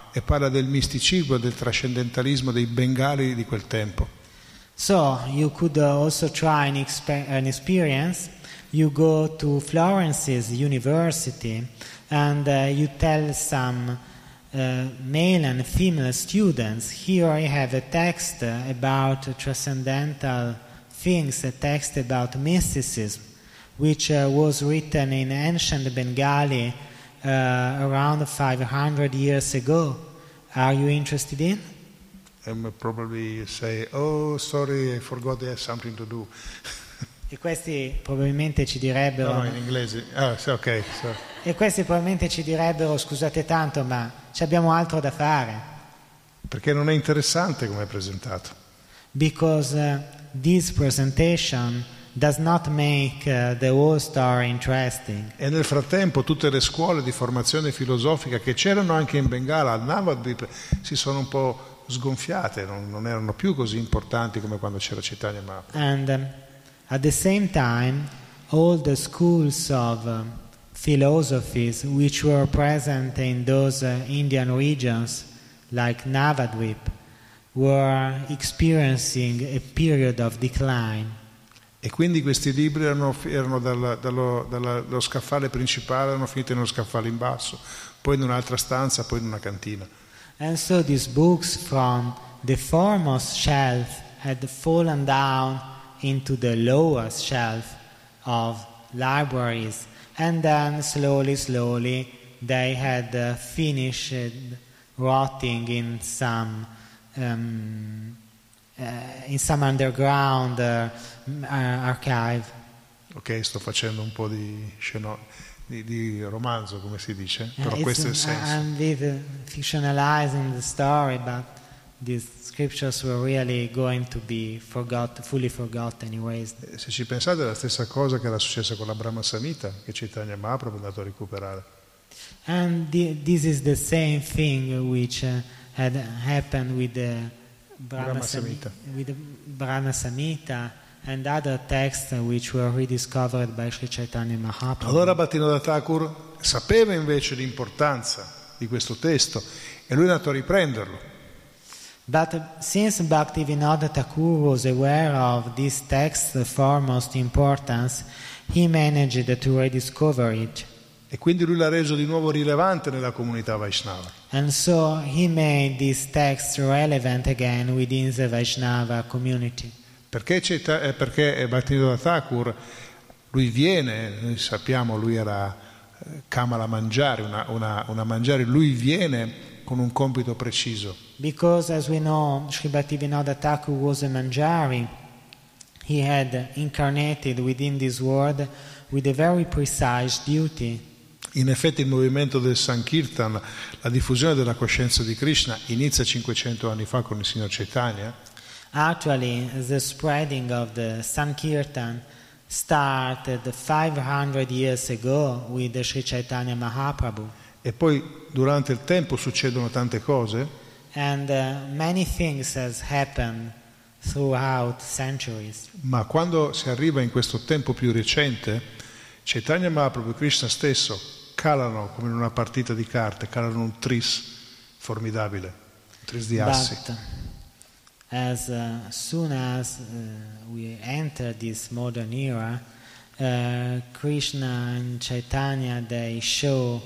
e parla del misticismo e del trascendentalismo dei bengali di quel tempo. So you could also try an experience. You go to Florence's university and you tell some male and female students, here I have a text about transcendental things, a text about mysticism, which was written in ancient Bengali around 500 years ago. Are you interested in? And probably say, oh, sorry, I forgot I have something to do. E questi probabilmente ci direbbero... No, in inglese. Ah, sì, ok. So. E questi probabilmente ci direbbero, scusate tanto, ma ci abbiamo altro da fare. Perché non è interessante come è presentato. Because this presentation does not make the whole story interesting. E nel frattempo tutte le scuole di formazione filosofica che c'erano anche in Bengala, al Navadvip, si sono un po' sgonfiate, non erano più così importanti come quando c'era Chaitanya Mahaprabhu. And at the same time, all the schools of philosophies which were present in those Indian regions, like Navadvip, were experiencing a period of decline. E quindi questi libri erano dallo scaffale principale, erano finiti nello scaffale in basso, poi in un'altra stanza, poi in una cantina. And so these books from the foremost shelf had fallen down into the lowest shelf of libraries, and then slowly they had finished rotting in some underground archive. Ok, sto facendo un po' di romanzo, come si dice, però questo è il senso. I'm fictionalizing the story, but these scriptures were really going to be fully forgotten anyways. Se ci pensate è la stessa cosa che era successa con la Brahma Samhita, che Chaitanya Mahaprabhu è andato a recuperare. And this is the same thing which had happened with the Brahma Samhita and other texts which were rediscovered by Sri Chaitanya Mahaprabhu. Allora Bhaktinoda Thakur sapeva invece l'importanza di questo testo e lui è andato a riprenderlo. But since Bhaktivinoda Thakur was aware of this text's foremost importance, he managed to rediscover it. E quindi lui l'ha reso di nuovo rilevante nella comunità Vaishnava. And so he made this text relevant again within the Vaishnava community. Perché Bhaktinoda Thakur, lui viene, noi sappiamo, lui era Kamala Manjari, una Manjari, lui viene con un compito preciso. Because as we know, Sri Bhaktivinoda Thakur was a Manjari. He had incarnated within this world with a very precise duty. In effetti il movimento del Sankirtan, la diffusione della coscienza di Krishna, inizia 500 anni fa con il signor Chaitanya. Actually, the spreading of the Sankirtan started 500 years ago with the Sri Chaitanya Mahaprabhu. E poi durante il tempo succedono tante cose. And many things has happened throughout centuries. Ma quando si arriva in questo tempo più recente, Chaitanya Mahaprabhu e Krishna stesso calano come in una partita di carte, calano un tris formidabile, un tris di assi. But as soon as we enter this modern era, Krishna and Chaitanya, they show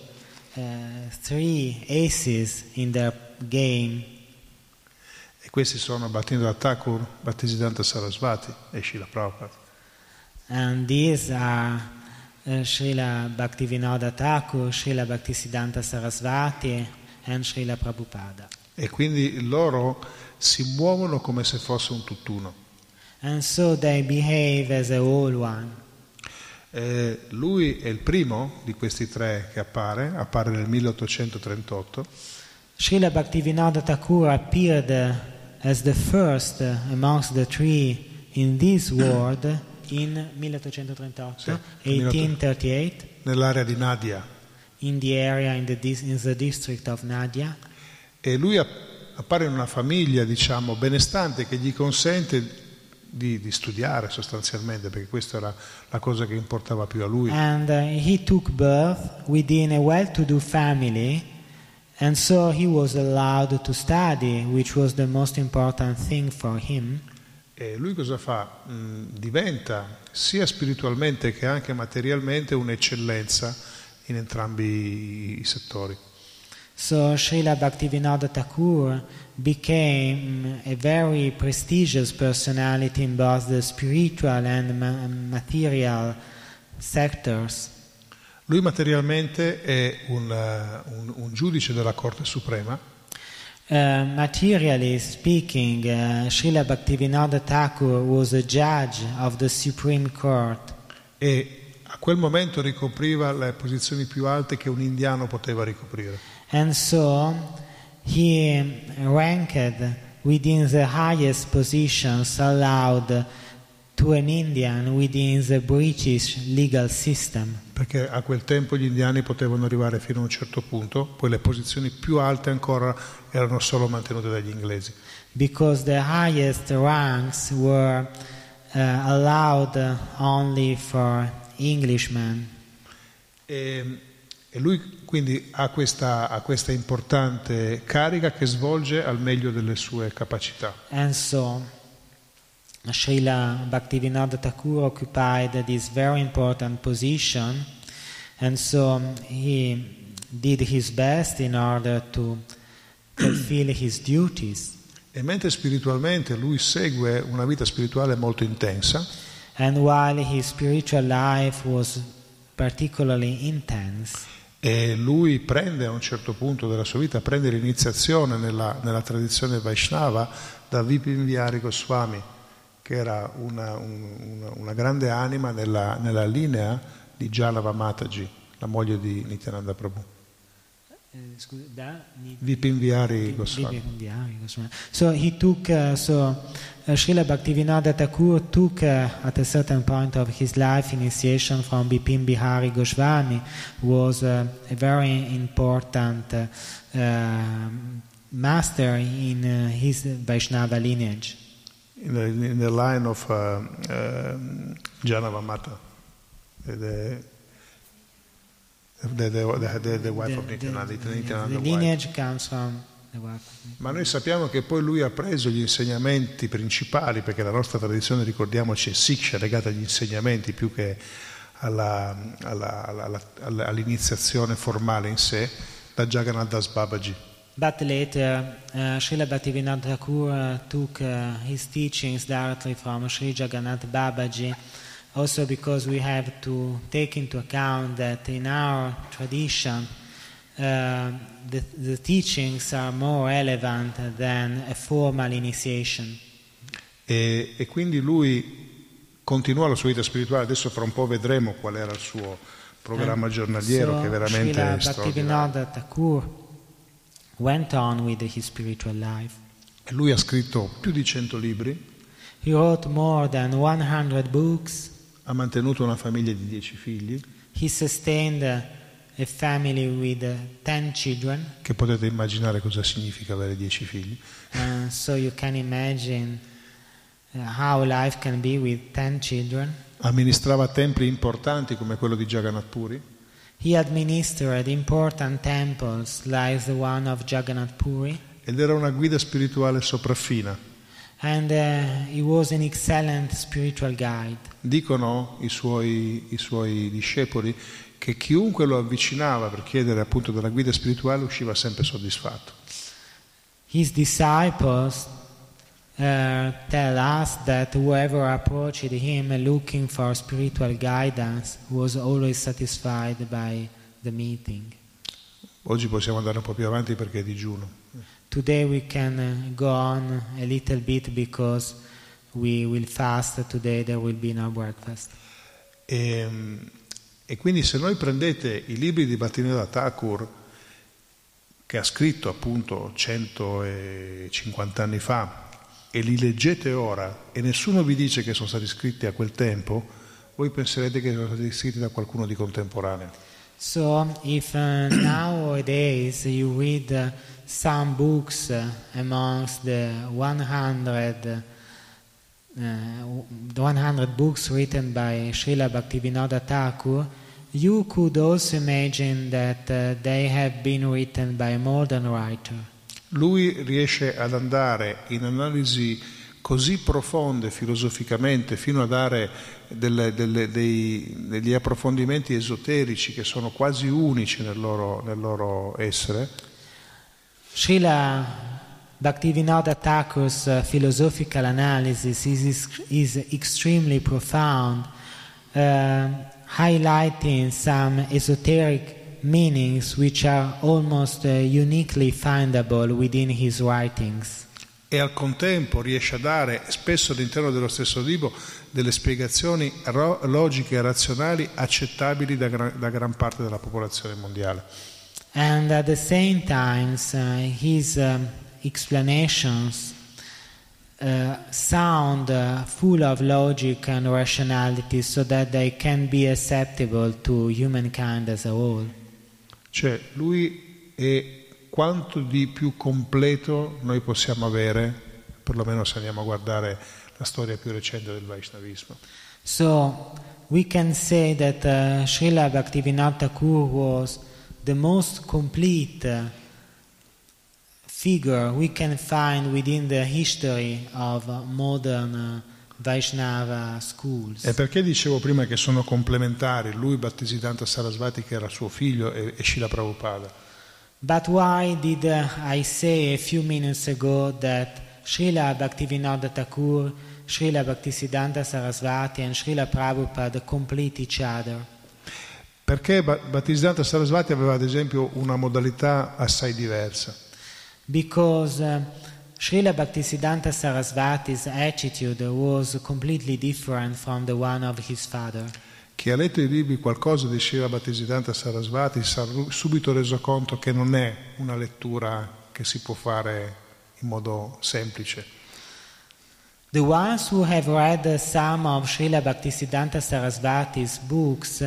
3 aces in their game. E questi sono Bhaktinoda Thakur, Bhaktisiddhanta Sarasvati e Srila Prabhupada. And these are Srila Bhaktivinoda Thakur, Srila Bhaktisiddhanta Sarasvati and Srila Prabhupada. E quindi loro si muovono come se fosse un tutt'uno. And so they behave as a whole one. Lui è il primo di questi 3 che appare nel 1838. Srila Bhaktivinoda Thakur appeared as the first amongst the 3 in this world in 1838, sì, 1838, nell'area di Nadia. in the area in the district of Nadia. E lui appare in una famiglia, diciamo, benestante che gli consente di studiare sostanzialmente, perché questa era la cosa che importava più a lui. And he took birth within a well-to-do family And so he was allowed to study, which was the most important thing for him. E lui cosa fa? Diventa sia spiritualmente che anche materialmente un'eccellenza in entrambi i settori. So Srila Bhaktivinoda Thakur became a very prestigious personality in both the spiritual and material sectors. Lui materialmente è un giudice della Corte Suprema. Materially speaking, Srila Bhaktivinoda Thakur was a judge of the Supreme Court. E a quel momento ricopriva le posizioni più alte che un indiano poteva ricoprire. And so he ranked within the highest positions allowed to an Indian within the British legal system. Perché a quel tempo gli indiani potevano arrivare fino a un certo punto, poi le posizioni più alte ancora erano solo mantenute dagli inglesi. Because the highest ranks were allowed only for Englishmen. E lui quindi ha questa importante carica che svolge al meglio delle sue capacità. And so Srila Bhaktivinoda Thakur occupied this very important position, and so he did his best in order to fulfill his duties. E mentre spiritualmente lui segue una vita spirituale molto intensa, and while his spiritual life was particularly intense, e lui prende a un certo punto della sua vita prende l'iniziazione nella tradizione Vaishnava da Vipin Vihari Goswami, che era una grande anima nella linea di Janava Mataji, la moglie di Nityananda Prabhu. Vipin Vihari Goswami. So he took, Srila Bhaktivinoda Thakur took at a certain point of his life initiation from Vipin Vihari Goswami, who was a very important master in his Vaishnava lineage. In the line of Janava Mata, the wife of Nityananda. The lineage comes from the wife of Nityananda. Ma noi sappiamo che poi lui ha preso gli insegnamenti principali, perché la nostra tradizione, ricordiamoci, è Siksha, legata agli insegnamenti più che all'iniziazione formale in sé, da Jagannath Das Babaji. But later, Srila Bhaktivinoda Thakur took his teachings directly from Sri Jagannath Babaji, also because we have to take into account that in our tradition the teachings are more relevant than a formal initiation. E quindi lui continuò la sua vita spirituale. Adesso fra un po' vedremo qual era il suo programma giornaliero, che è veramente Srila straordinario. Bhaktivinoda Thakur went on with his spiritual life. E lui ha scritto più di 100 libri, He wrote more than 100 books. ha mantenuto una famiglia di 10 figli, He sustained a family with 10 children. che potete immaginare cosa significa avere 10 figli. So you can imagine how life can be with 10 children. Amministrava templi importanti come quello di Jagannath Puri, He administered important temples like the one of Jagannath Puri, ed era una guida spirituale sopraffina. and he was an excellent spiritual guide. Dicono i suoi discepoli che chiunque lo avvicinava per chiedere appunto della guida spirituale usciva sempre soddisfatto. His disciples tell us that whoever approached him looking for spiritual guidance was always satisfied by the meeting. Oggi possiamo andare un po' più avanti perché è digiuno. Today we can go on a little bit because we will fast. Today there will be no breakfast. E quindi se noi prendete i libri di Bhaktivinoda Thakur, che ha scritto appunto 150 anni fa, e li leggete ora e nessuno vi dice che sono stati scritti a quel tempo, voi penserete che sono stati scritti da qualcuno di contemporaneo. So if nowadays you read some books amongst the 100 books written by Srila Bhaktivinoda Thakur, you could also imagine that they have been written by a modern writer. Lui riesce ad andare in analisi così profonde filosoficamente fino a dare degli approfondimenti esoterici che sono quasi unici nel loro essere. Srila Bhaktivinoda Thakur's philosophical analysis is extremely profound, highlighting some esoteric meanings which are almost uniquely findable within his writings. E al contempo riesce a dare, spesso all'interno dello stesso libro, delle spiegazioni logiche e razionali accettabili da gran parte della popolazione mondiale. And at the same time, his explanations sound full of logic and rationality so that they can be acceptable to humankind as a whole. Cioè, lui è quanto di più completo noi possiamo avere, perlomeno se andiamo a guardare la storia più recente del Vaishnavismo. So we can say that Srila Bhaktivinoda Thakur was the most complete figure we can find within the history of modern Vaishnava schools. E perché dicevo prima che sono complementari, lui, Bhaktisiddhanta Sarasvati, che era suo figlio, e Srila Prabhupada? But why did I say a few minutes ago that Srila Bhaktivinoda Thakur, Srila Bhaktisiddhanta Sarasvati and Srila Prabhupada complete each other? Perché Bhaktisiddhanta Sarasvati aveva ad esempio una modalità assai diversa. Because Srila Bhaktisiddhanta Sarasvati's attitude was completely different from the one of his father. Chi ha letto i libri qualcosa di Srila Bhaktisiddhanta Sarasvati si è subito reso conto che non è una lettura che si può fare in modo semplice. The ones who have read some of Srila Bhaktisiddhanta Sarasvati's books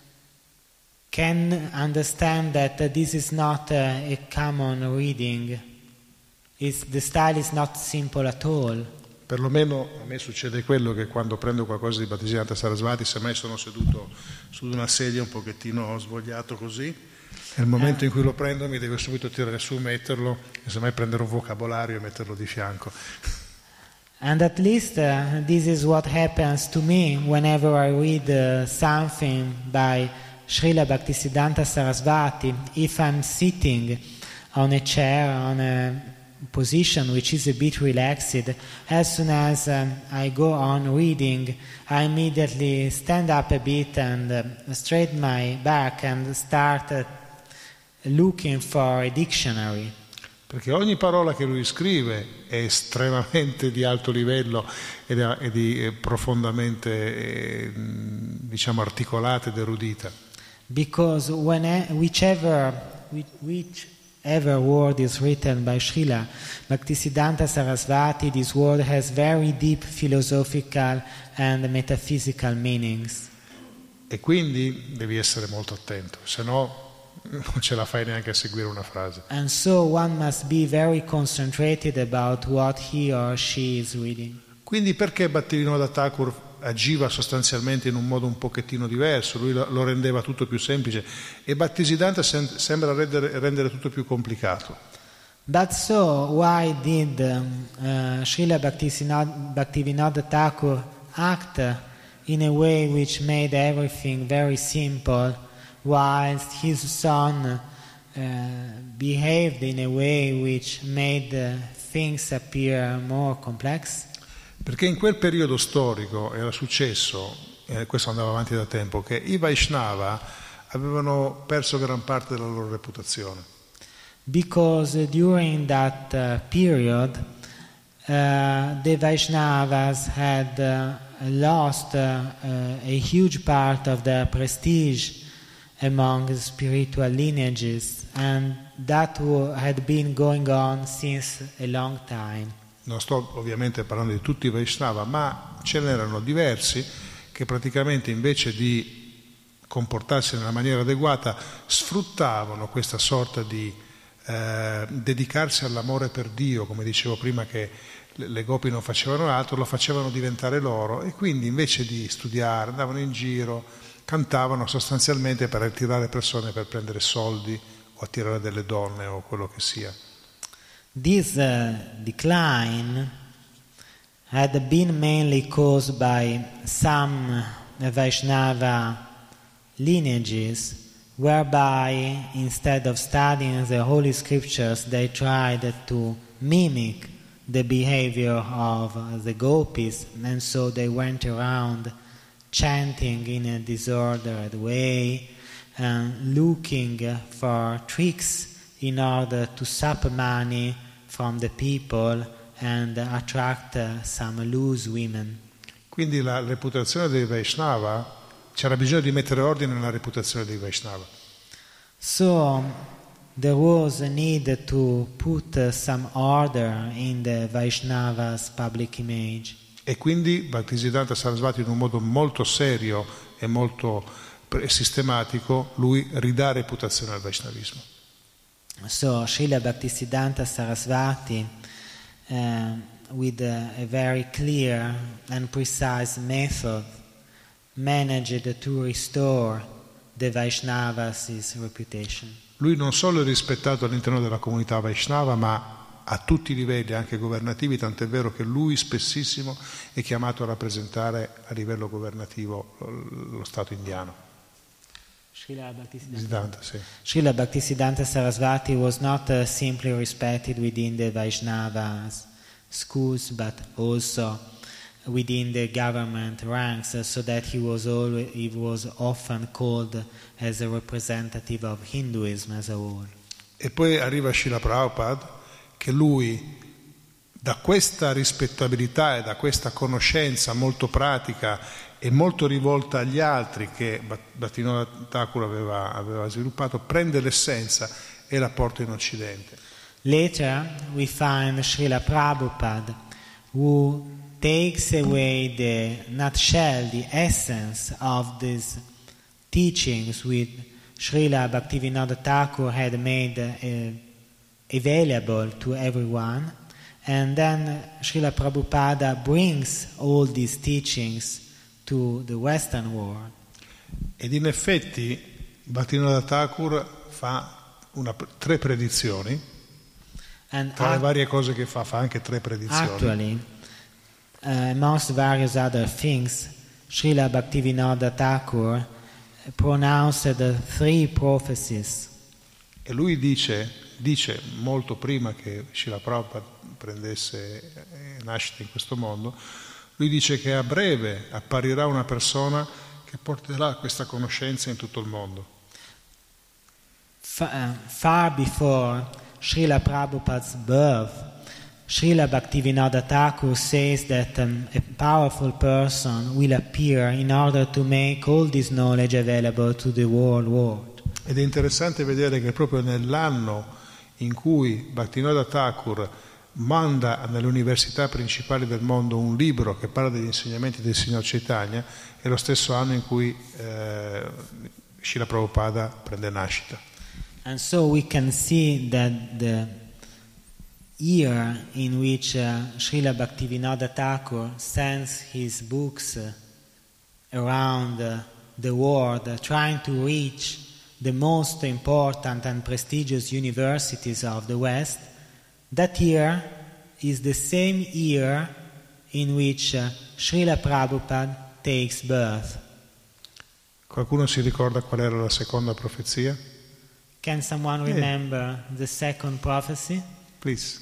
can understand that this is not a common reading. The style is not simple at all. Perlomeno a me succede quello che quando prendo qualcosa di Bhaktisiddhanta Sarasvati, se mai sono seduto su una sedia un pochettino svogliato così, nel momento in cui lo prendo mi devo subito tirare su, metterlo, e se mai prendere un vocabolario e metterlo di fianco. And at least this is what happens to me whenever I read something by Srila Bhaktisiddhanta Sarasvati. If I'm sitting on a chair, on a position which is a bit relaxed, as soon as I go on reading, I immediately stand up a bit and straighten my back and start looking for a dictionary. Perché ogni parola che lui scrive è estremamente di alto livello e di profondamente diciamo articolata ed erudita. Because whichever word is written by Srila Bhaktisiddhanta Sarasvati, this word has very deep philosophical and metaphysical meanings. E quindi devi essere molto attento, se no non ce la fai neanche a seguire una frase. And so one must be very concentrated about what he or she is reading. Quindi perché Bhaktivinoda Thakur agiva sostanzialmente in un modo un pochettino diverso, lui lo rendeva tutto più semplice, e Bhaktisiddhanta sembra rendere tutto più complicato. But so why did Srila Bhaktivinoda Thakur act in a way which made everything very simple, whilst his son behaved in a way which made things appear more complex? Perché in quel periodo storico era successo, questo andava avanti da tempo, che i Vaishnava avevano perso gran parte della loro reputazione. Because during that period the Vaishnavas had lost a huge part of their prestige among the spiritual lineages, and that had been going on since a long time. Non sto ovviamente parlando di tutti i Vaishnava, ma ce n'erano diversi che praticamente invece di comportarsi nella maniera adeguata sfruttavano questa sorta di dedicarsi all'amore per Dio, come dicevo prima che le gopi non facevano altro, lo facevano diventare loro, e quindi invece di studiare andavano in giro, cantavano sostanzialmente per attirare persone per prendere soldi o attirare delle donne o quello che sia. This decline had been mainly caused by some Vaishnava lineages, whereby instead of studying the holy scriptures they tried to mimic the behavior of the gopis, and so they went around chanting in a disordered way and looking for tricks in order to sup money from the people and attract some loose women. Quindi la reputazione dei Vaishnava, c'era bisogno di mettere ordine nella reputazione dei Vaishnava. So there was a need to put some order in the Vaishnava's public image. E quindi Bhaktisiddhanta Sarasvati, in un modo molto serio e molto sistematico, lui ridà reputazione al Vaishnavismo. So Srila Bhaktisiddhanta Sarasvati, with a very clear and precise method, managed to restore the Vaishnava's reputation. Lui non solo è rispettato all'interno della comunità Vaishnava, ma a tutti i livelli, anche governativi, tant'è vero che lui spessissimo è chiamato a rappresentare a livello governativo lo Stato indiano. Srila Bhaktisiddhanta Sarasvati was not simply respected within the Vaishnava's schools, but also within the government ranks, so that he was often called as a representative of Hinduism as a whole. E poi arriva Srila Prabhupada, che lui, da questa rispettabilità e da questa conoscenza molto pratica e molto rivolta agli altri che Bhattivinoda Thakur aveva sviluppato, prende l'essenza e la porta in Occidente. Later we find Srila Prabhupada, who takes away the nutshell, the essence of these teachings which Srila Bhaktivinoda Thakur had made available to everyone, and then Srila Prabhupada brings all these teachings to the Western world. Ed in effetti Bhaktivinoda Thakur fa 3 predizioni, and tra le varie cose che fa anche 3 predizioni. Actually, amongst various other things, Srila Bhaktivinoda Thakur pronounced 3 prophecies. E lui dice molto prima che Srila Prabhupada prendesse nascita in questo mondo, lui dice che a breve apparirà una persona che porterà questa conoscenza in tutto il mondo. Far before Srila Prabhupada's birth, Srila Bhaktivinoda Thakur says that a powerful person will appear in order to make all this knowledge available to the whole world. Ed è interessante vedere che proprio nell'anno in cui Bhaktivinoda Thakur manda nelle università principali del mondo un libro che parla degli insegnamenti del Signor Chaitanya, è lo stesso anno in cui Srila Prabhupada prende nascita. And so we can see that the year in which Srila Bhaktivinoda Thakur sends his books around the world, trying to reach the most important and prestigious universities of the West, that year is the same year in which Srila Prabhupada takes birth. Qualcuno si ricorda qual era la seconda profezia? Can someone remember the second prophecy? Please.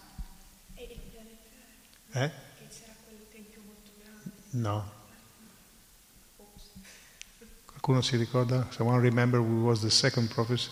No. Qualcuno si ricorda? Someone remember what was the second prophecy?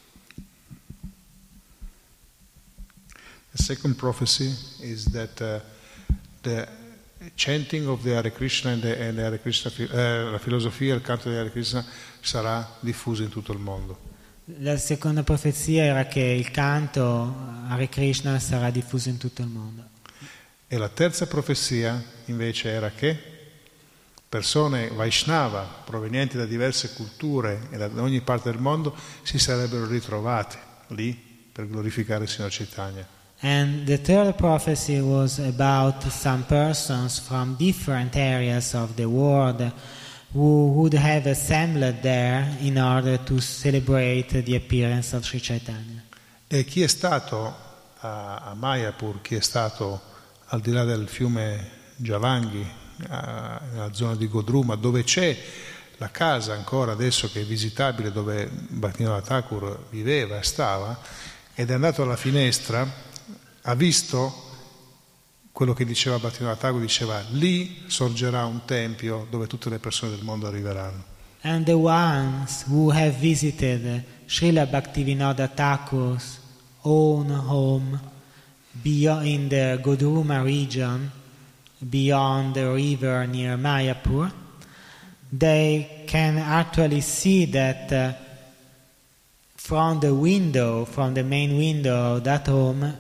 The second prophecy is that the chanting of the Hare Krishna and the Hare Krishna, la filosofia e il canto di Hare Krishna sarà diffuso in tutto il mondo. La seconda profezia era che il canto Hare Krishna sarà diffuso in tutto il mondo. E la terza profezia invece era che persone Vaishnava provenienti da diverse culture e da ogni parte del mondo si sarebbero ritrovate lì per glorificare il Signor Chaitanya. And the third prophecy was about some persons from different areas of the world who would have assembled there in order to celebrate the appearance of Sri Chaitanya. E chi è stato a Mayapur, chi è stato al di là del fiume Jalangi, nella zona di Godruma, dove c'è la casa ancora adesso che è visitabile, dove Bhaktivinoda Thakur viveva e stava, ed è andato alla finestra, ha visto quello che diceva Bhaktivinoda Thakur, diceva: lì sorgerà un tempio dove tutte le persone del mondo arriveranno. And the ones who have visited Srila Bhaktivinoda Thakur's own home in the Godruma region, beyond the river near Mayapur, they can actually see that from the main window of that home,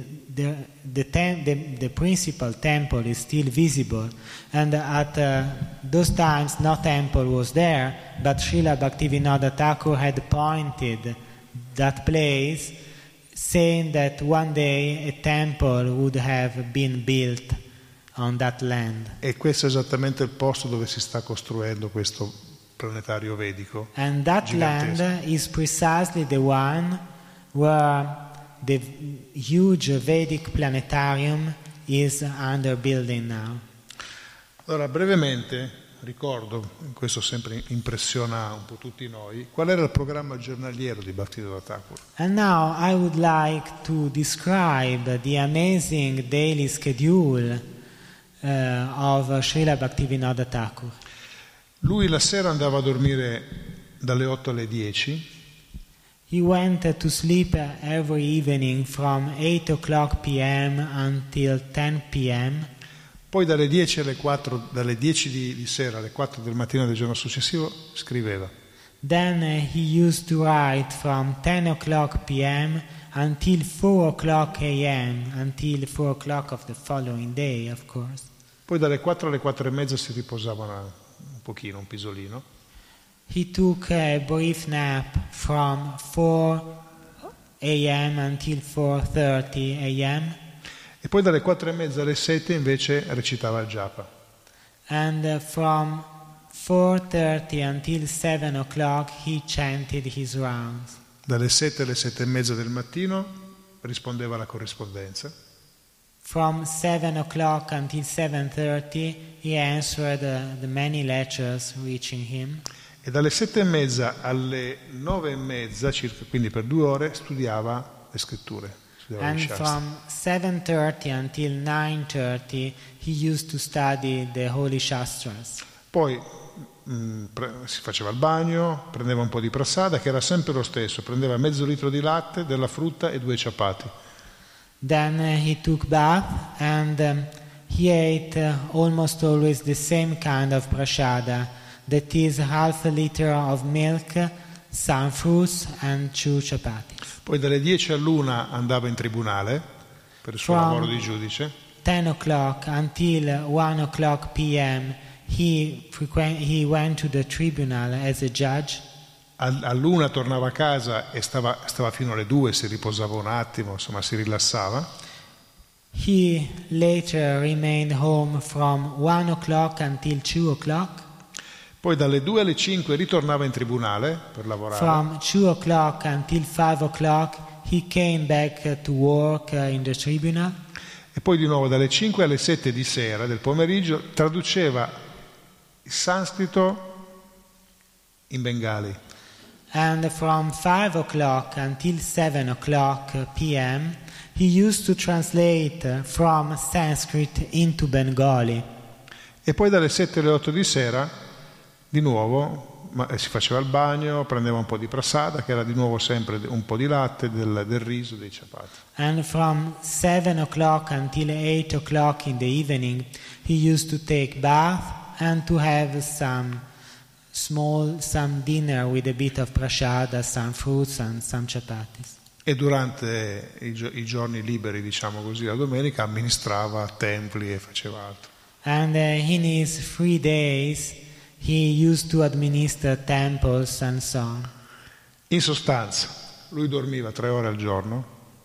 the principal temple is still visible. And at those times, no temple was there, but Srila Bhaktivinoda Thakur had pointed that place, saying that one day a temple would have been built on that land. E questo è esattamente il posto dove si sta costruendo questo planetario vedico. And that gigantesco. land is precisely the one where the huge Vedic planetarium is under building now. Allora, brevemente ricordo, questo sempre impressiona un po' tutti noi, qual era il programma giornaliero di Bhaktivinoda Thakur. And now I would like to describe the amazing daily schedule of Srila Bhaktivinoda Thakur. Lui la sera andava a dormire dalle 8 alle 10. He went to sleep every evening from 8 o'clock p.m. until 10 p.m. Poi dalle 10 alle 4, dalle 10 di sera alle 4 del mattino del giorno successivo scriveva. Then he used to write from 10 o'clock p.m. until 4 o'clock a.m. until 4 o'clock of the following day, of course. Poi dalle 4 alle 4 e mezza si riposava un pochino, un pisolino. He took a brief nap from 4 a.m. until 4:30 a.m. E poi dalle 4 e mezza alle 7 invece recitava il japa. And from 4:30 until 7 o'clock he chanted his rounds. Dalle 7 alle 7 e mezza del mattino rispondeva alla corrispondenza. From 7 o'clock until 7:30 he answered the many letters reaching him. E dalle 7 e mezza alle 9 e mezza, circa, quindi per 2 ore, studiava le scritture. And from 7:30 until 9:30 he used to study the Holy Shastras. Poi si faceva il bagno, prendeva un po' di prasada, che era sempre lo stesso, prendeva mezzo litro di latte, della frutta e 2 ciapati. Then he took bath and he ate almost always the same kind of prasada, that is half a liter of milk, some fruits and 2 chapati. Poi dalle 10 all'1 andava in tribunale per il suo lavoro di giudice. 10 o'clock until 1 o'clock p.m. he went to the tribunal as a judge. All'1 tornava a casa e stava fino alle 2, si riposava un attimo, insomma si rilassava. He later remained home from 1 o'clock until 2 o'clock. Poi dalle 2 alle 5 ritornava in tribunale per lavorare. From 2 o'clock until 5 o'clock he came back to work in the tribunal. E poi di nuovo dalle 5 alle 7 di sera del pomeriggio traduceva il sanscrito in bengali. And from 5 o'clock until 7 o'clock p.m. he used to translate from Sanskrit into Bengali. E poi dalle 7 alle 8 di sera di nuovo si faceva il bagno, prendeva un po' di prasada, che era di nuovo sempre un po' di latte, del riso, dei ciapati. And from 7 o'clock until 8 o'clock in the evening he used to take bath and to have some dinner with a bit of prasada, some fruits and some chapatis. E durante i giorni liberi, diciamo così, la domenica amministrava templi e faceva altro. And in his free days he used to administer temples and so on. In sostanza, lui dormiva 3 ore al giorno.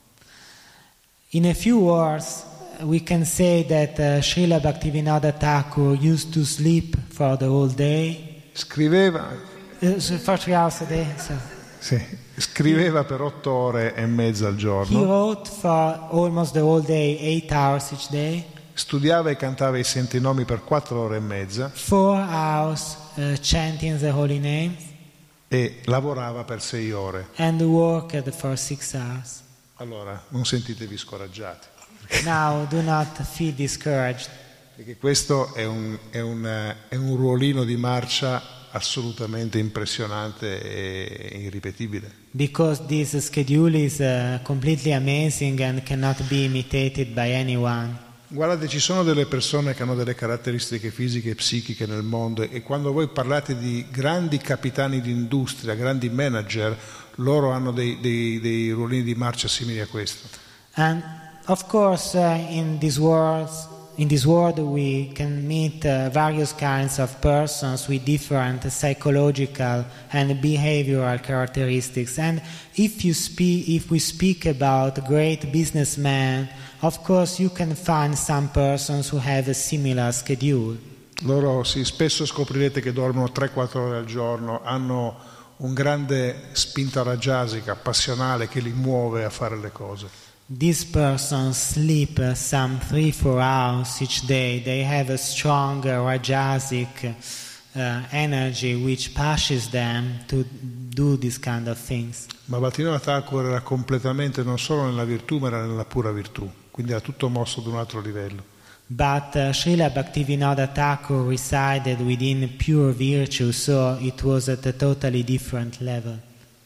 In a few words, we can say that Srila Bhaktivinoda Thakur used to sleep for the whole day. scriveva, for 3 hours a day. So. sì, scriveva per 8 ore e mezza al He giorno, wrote for almost the whole day, 8 hours each day. studiava e cantava i santi nomi per 4 ore e mezza 4 hours chanting the holy names, e lavorava per 6 ore. and worked for 6 hours. Allora, non sentitevi scoraggiati, Now do not feel discouraged, perché questo è un ruolino di marcia assolutamente impressionante e irripetibile. because this schedule is completely amazing and cannot be imitated by anyone. Guardate, ci sono delle persone che hanno delle caratteristiche fisiche e psichiche nel mondo e quando voi parlate di grandi capitani di industria, grandi manager, loro hanno dei ruolini di marcia simili a questo. And of course, in this world we can meet various kinds of persons with different psychological and behavioral characteristics. And if we speak about great businessmen, of course you can find some persons who have a similar schedule. Loro spesso scoprirete che dormono 3-4 ore al giorno, hanno un grande spinta rajasica, passionale, che li muove a fare le cose. These persons sleep some 3-4 hours each day. They have a strong rajasic energy which pushes them to do this kind of things. Ma Bhaktivinoda Thakur era completamente non solo nella virtù, ma era nella pura virtù, quindi era tutto mosso ad un altro livello. But Srila Bhaktivinoda Thakur resided within pure virtue, so it was at a totally different level.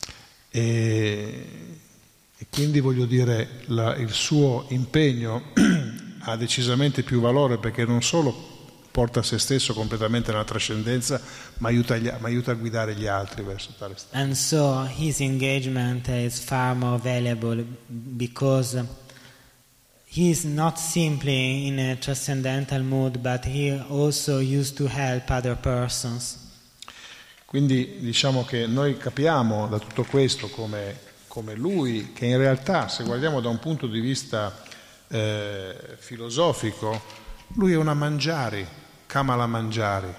E quindi voglio dire, il suo impegno ha decisamente più valore, perché non solo porta se stesso completamente nella trascendenza, ma aiuta a guidare gli altri verso tale stato. And so his engagement is far more valuable because he is not simply in a transcendental mood, but he also used to help other persons. Quindi diciamo che noi capiamo da tutto questo come lui, che in realtà, se guardiamo da un punto di vista filosofico, lui è una Manjari, Kamala Manjari.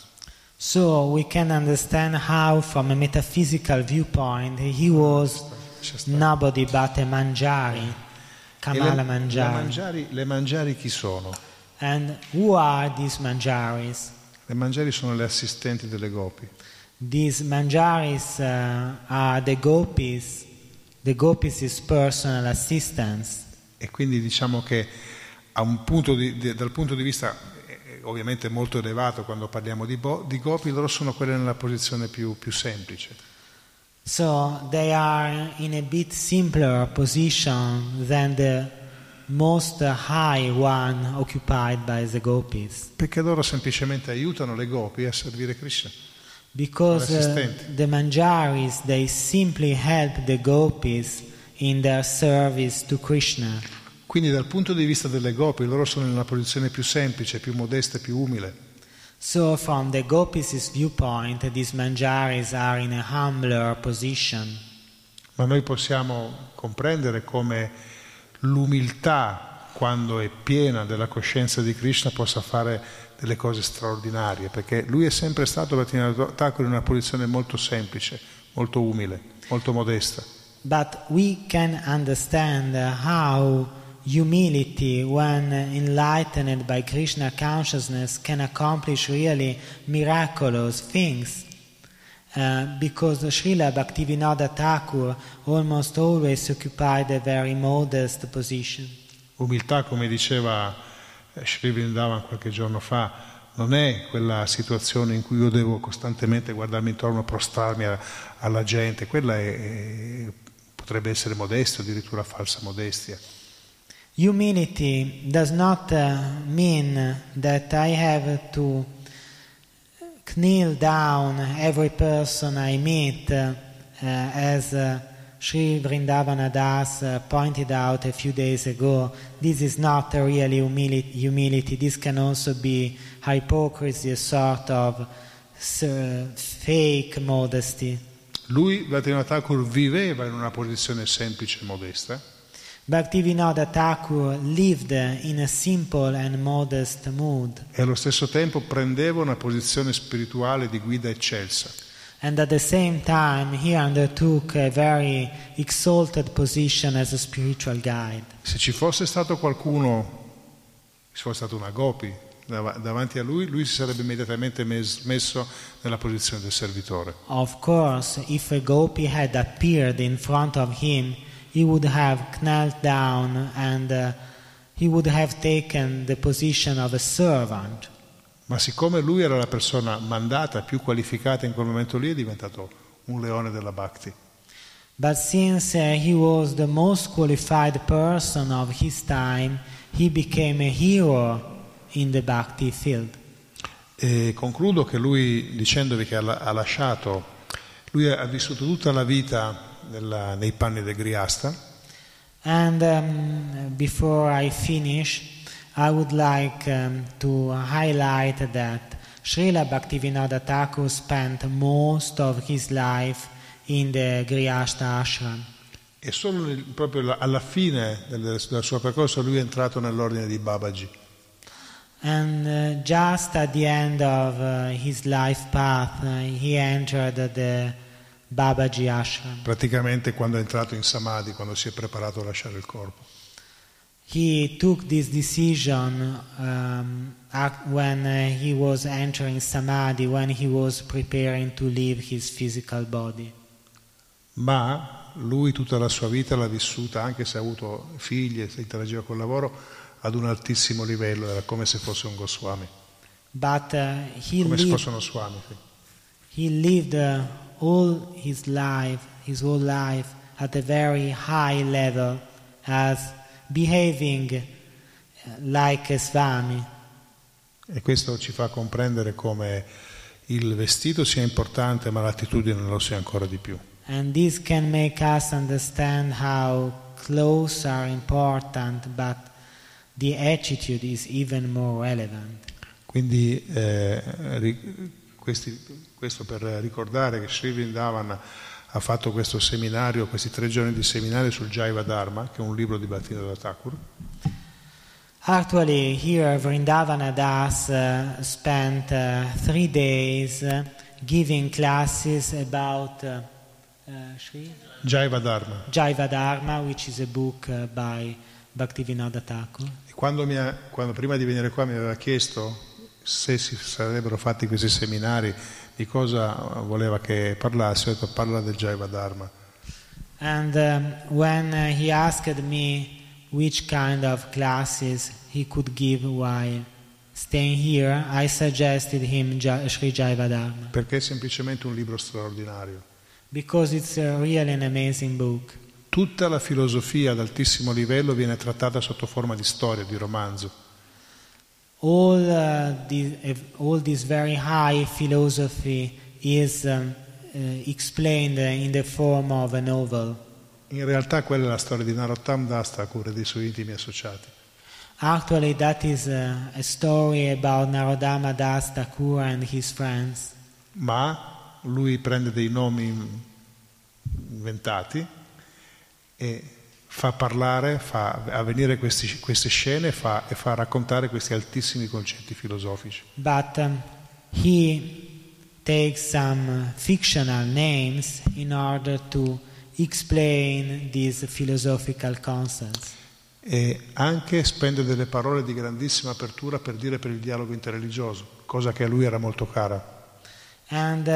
So we can understand how, from a metaphysical viewpoint, he was nobody but a Manjari, Kamala Manjari. Le Manjari chi sono? And who are these Manjaris? Le Manjari sono le assistenti delle gopi. These Manjaris are the gopis. The gopis is personal assistants. E quindi diciamo che dal punto di vista ovviamente molto elevato, quando parliamo di gopi, loro sono quelle nella posizione più semplice. So they are in a bit simpler position than the most high one occupied by the gopis. Perché loro semplicemente aiutano le gopi a servire Krishna. Because the Manjaris, they simply help the gopis in their service to Krishna. Quindi dal punto di vista delle gopi, loro sono in una posizione più semplice, più modesta, più umile. So from the gopis' viewpoint, these Manjaris are in a humbler position. Ma noi possiamo comprendere come l'umiltà, quando è piena della coscienza di Krishna, possa fare delle cose straordinarie, perché lui è sempre stato, Bhaktivinoda Thakur, in una posizione molto semplice, molto umile, molto modesta. But we can understand how humility, when enlightened by Krishna consciousness, can accomplish really miraculous things. Because Srila Bhaktivinoda Thakur almost always occupied a very modest position. Umiltà, come diceva Sri Vrindavan qualche giorno fa, non è quella situazione in cui io devo costantemente guardarmi intorno, prostrarmi alla gente. Quella potrebbe essere modestia, addirittura falsa modestia. Humility does not mean that I have to kneel down every person I meet, as Sri Vrindavana Das pointed out a few days ago. This is not a really humility. This can also be hypocrisy, a sort of fake modesty. Lui, Bhaktivinoda Thakur, viveva in una posizione semplice e modesta. Bhaktivinoda Thakur lived in a simple and modest mood, e allo stesso tempo prendeva una posizione spirituale di guida eccelsa. and at the same time he undertook a very exalted position as a spiritual guide. Se ci fosse stato qualcuno, se fosse stata una gopi davanti a lui, lui si sarebbe immediatamente messo nella posizione del servitore. Of course, if a gopi had appeared in front of him, he would have knelt down and he would have taken the position of a servant. Ma siccome lui era la persona mandata, più qualificata in quel momento lì, è diventato un leone della Bhakti. But since he was the most qualified person of his time, he became a hero in the Bhakti field. E concludo che lui, dicendovi che ha lasciato, lui ha vissuto tutta la vita nei panni del Grihastha. And before I finish, I would like to highlight that Srila Bhaktivinoda Thakur spent most of his life in the Grihastha ashram. E solo proprio alla fine del suo percorso lui è entrato nell'ordine di Babaji. And just at the end of his life path, he entered the Babaji ashram. Praticamente quando è entrato in Samadhi, quando si è preparato a lasciare il corpo. He took this decision when he was entering Samadhi, when he was preparing to leave his physical body. Ma lui tutta la sua vita l'ha vissuta, anche se ha avuto figli e se interagiva col lavoro, ad un altissimo livello, era come se fosse un Goswami. But come se fosse uno Swami. Sì. He lived all his whole life at a very high level, as behaving like a Swami. E questo ci fa comprendere come il vestito sia importante, ma l'attitudine lo sia ancora di più. And this can make us understand how clothes are important, but the attitude is even more relevant. Quindi questo per ricordare che Sri Vrindavan ha fatto questo seminario, questi 3 giorni di seminario sul Jaiva Dharma, che è un libro di Bhaktivinoda Thakur. Actually, here Vrindavana Das spent 3 days giving classes about Jaiva Dharma. Jaiva Dharma, which is a book by Bhaktivinoda Thakur. E quando prima di venire qua mi aveva chiesto se si sarebbero fatti questi seminari, di cosa voleva che parlassi, ho detto parla del Jaiva Dharma. And when he asked me which kind of classes he could give while staying here, I suggested him Sri Jaiva Dharma. Perché è semplicemente un libro straordinario. Because it's really an amazing book. Tutta la filosofia ad altissimo livello viene trattata sotto forma di storia, di romanzo. All this very high philosophy is explained in the form of a novel. In realtà quella è la storia di Narottam Das Thakur e dei suoi intimi associati. Actually, that is a story about Narodama Das Thakur and his friends. Ma lui prende dei nomi inventati e fa parlare, fa avvenire queste scene e fa raccontare questi altissimi concetti filosofici. But he takes some fictional names in order to explain these philosophical concepts. E anche spende delle parole di grandissima apertura per il dialogo interreligioso, cosa che a lui era molto cara. And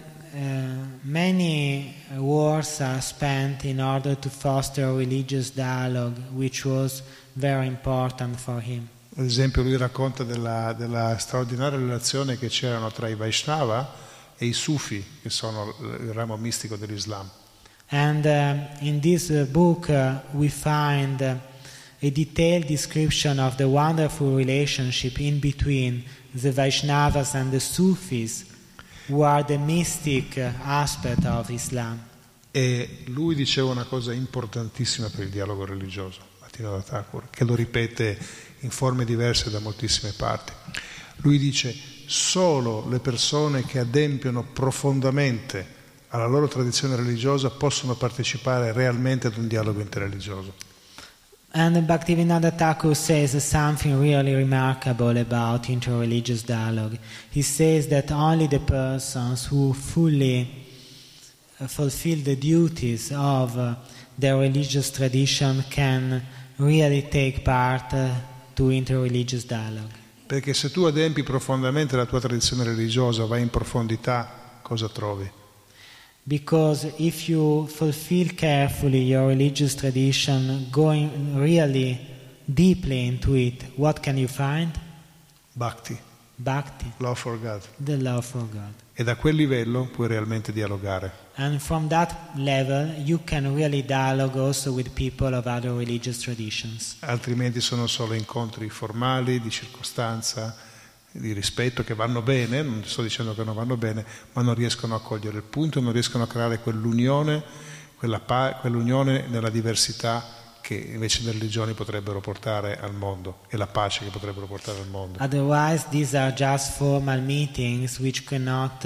many words are spent in order to foster religious dialogue, which was very important for him. Ad esempio lui racconta della straordinaria relazione che c'erano tra i Vaishnava e i Sufi, che sono il ramo mistico dell'Islam. And in this book we find a detailed description of the wonderful relationship in between the Vaishnavas and the Sufis, who are the mystic aspect of Islam. E lui diceva una cosa importantissima per il dialogo religioso, Bhaktivinoda Thakur, che lo ripete in forme diverse da moltissime parti. Lui dice: solo le persone che adempiono profondamente alla loro tradizione religiosa possono partecipare realmente ad un dialogo interreligioso. And Bhaktivinoda Thakur says something really remarkable about interreligious dialogue. He says that only the persons who fully fulfill the duties of their religious tradition can really take part to interreligious dialogue. Perché se tu adempi profondamente la tua tradizione religiosa, vai in profondità, cosa trovi? Because if you fulfill carefully your religious tradition, going really deeply into it, what can you find? Bhakti, Bhakti, love for God. the love for God. E da quel livello puoi realmente dialogare. And from that level, you can really dialogue also with people of other religious traditions. Altrimenti sono solo incontri formali, di circostanza, di rispetto, che vanno bene, non sto dicendo che non vanno bene, ma non riescono a cogliere il punto, non riescono a creare quell'unione, quell'unione nella diversità che invece le religioni potrebbero portare al mondo, e la pace che potrebbero portare al mondo. Otherwise, these are just formal meetings which cannot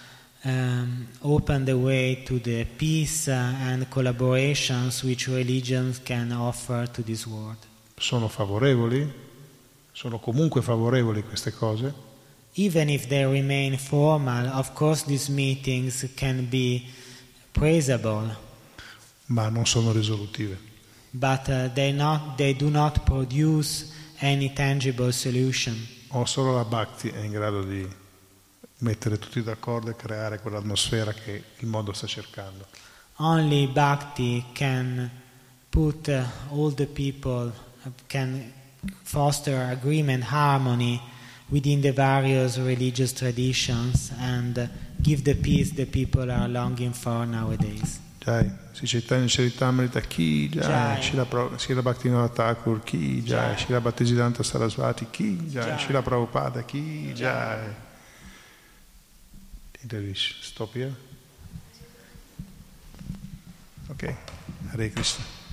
open the way to the peace and collaborations which religions can offer to this world. Sono favorevoli? Sono comunque favorevoli queste cose? Even if they remain formal, of course these meetings can be praisable, Ma non sono risolutive. but they do not produce any tangible solution. O solo la Bhakti è in grado di mettere tutti d'accordo e creare quell'atmosfera che il mondo sta cercando. Only Bhakti can put all the people, can foster agreement, harmony within the various religious traditions and give the peace the people are longing for nowadays. Jai, Sri Chaitanya Charitamrita, Ki Jai, Srila Bhaktivinoda Thakur, Ki Jai, Srila Bhaktisiddhanta Saraswati, Ki Jai, Srila Prabhupada, Ki Jai. Stop here. Okay, Hare Krishna.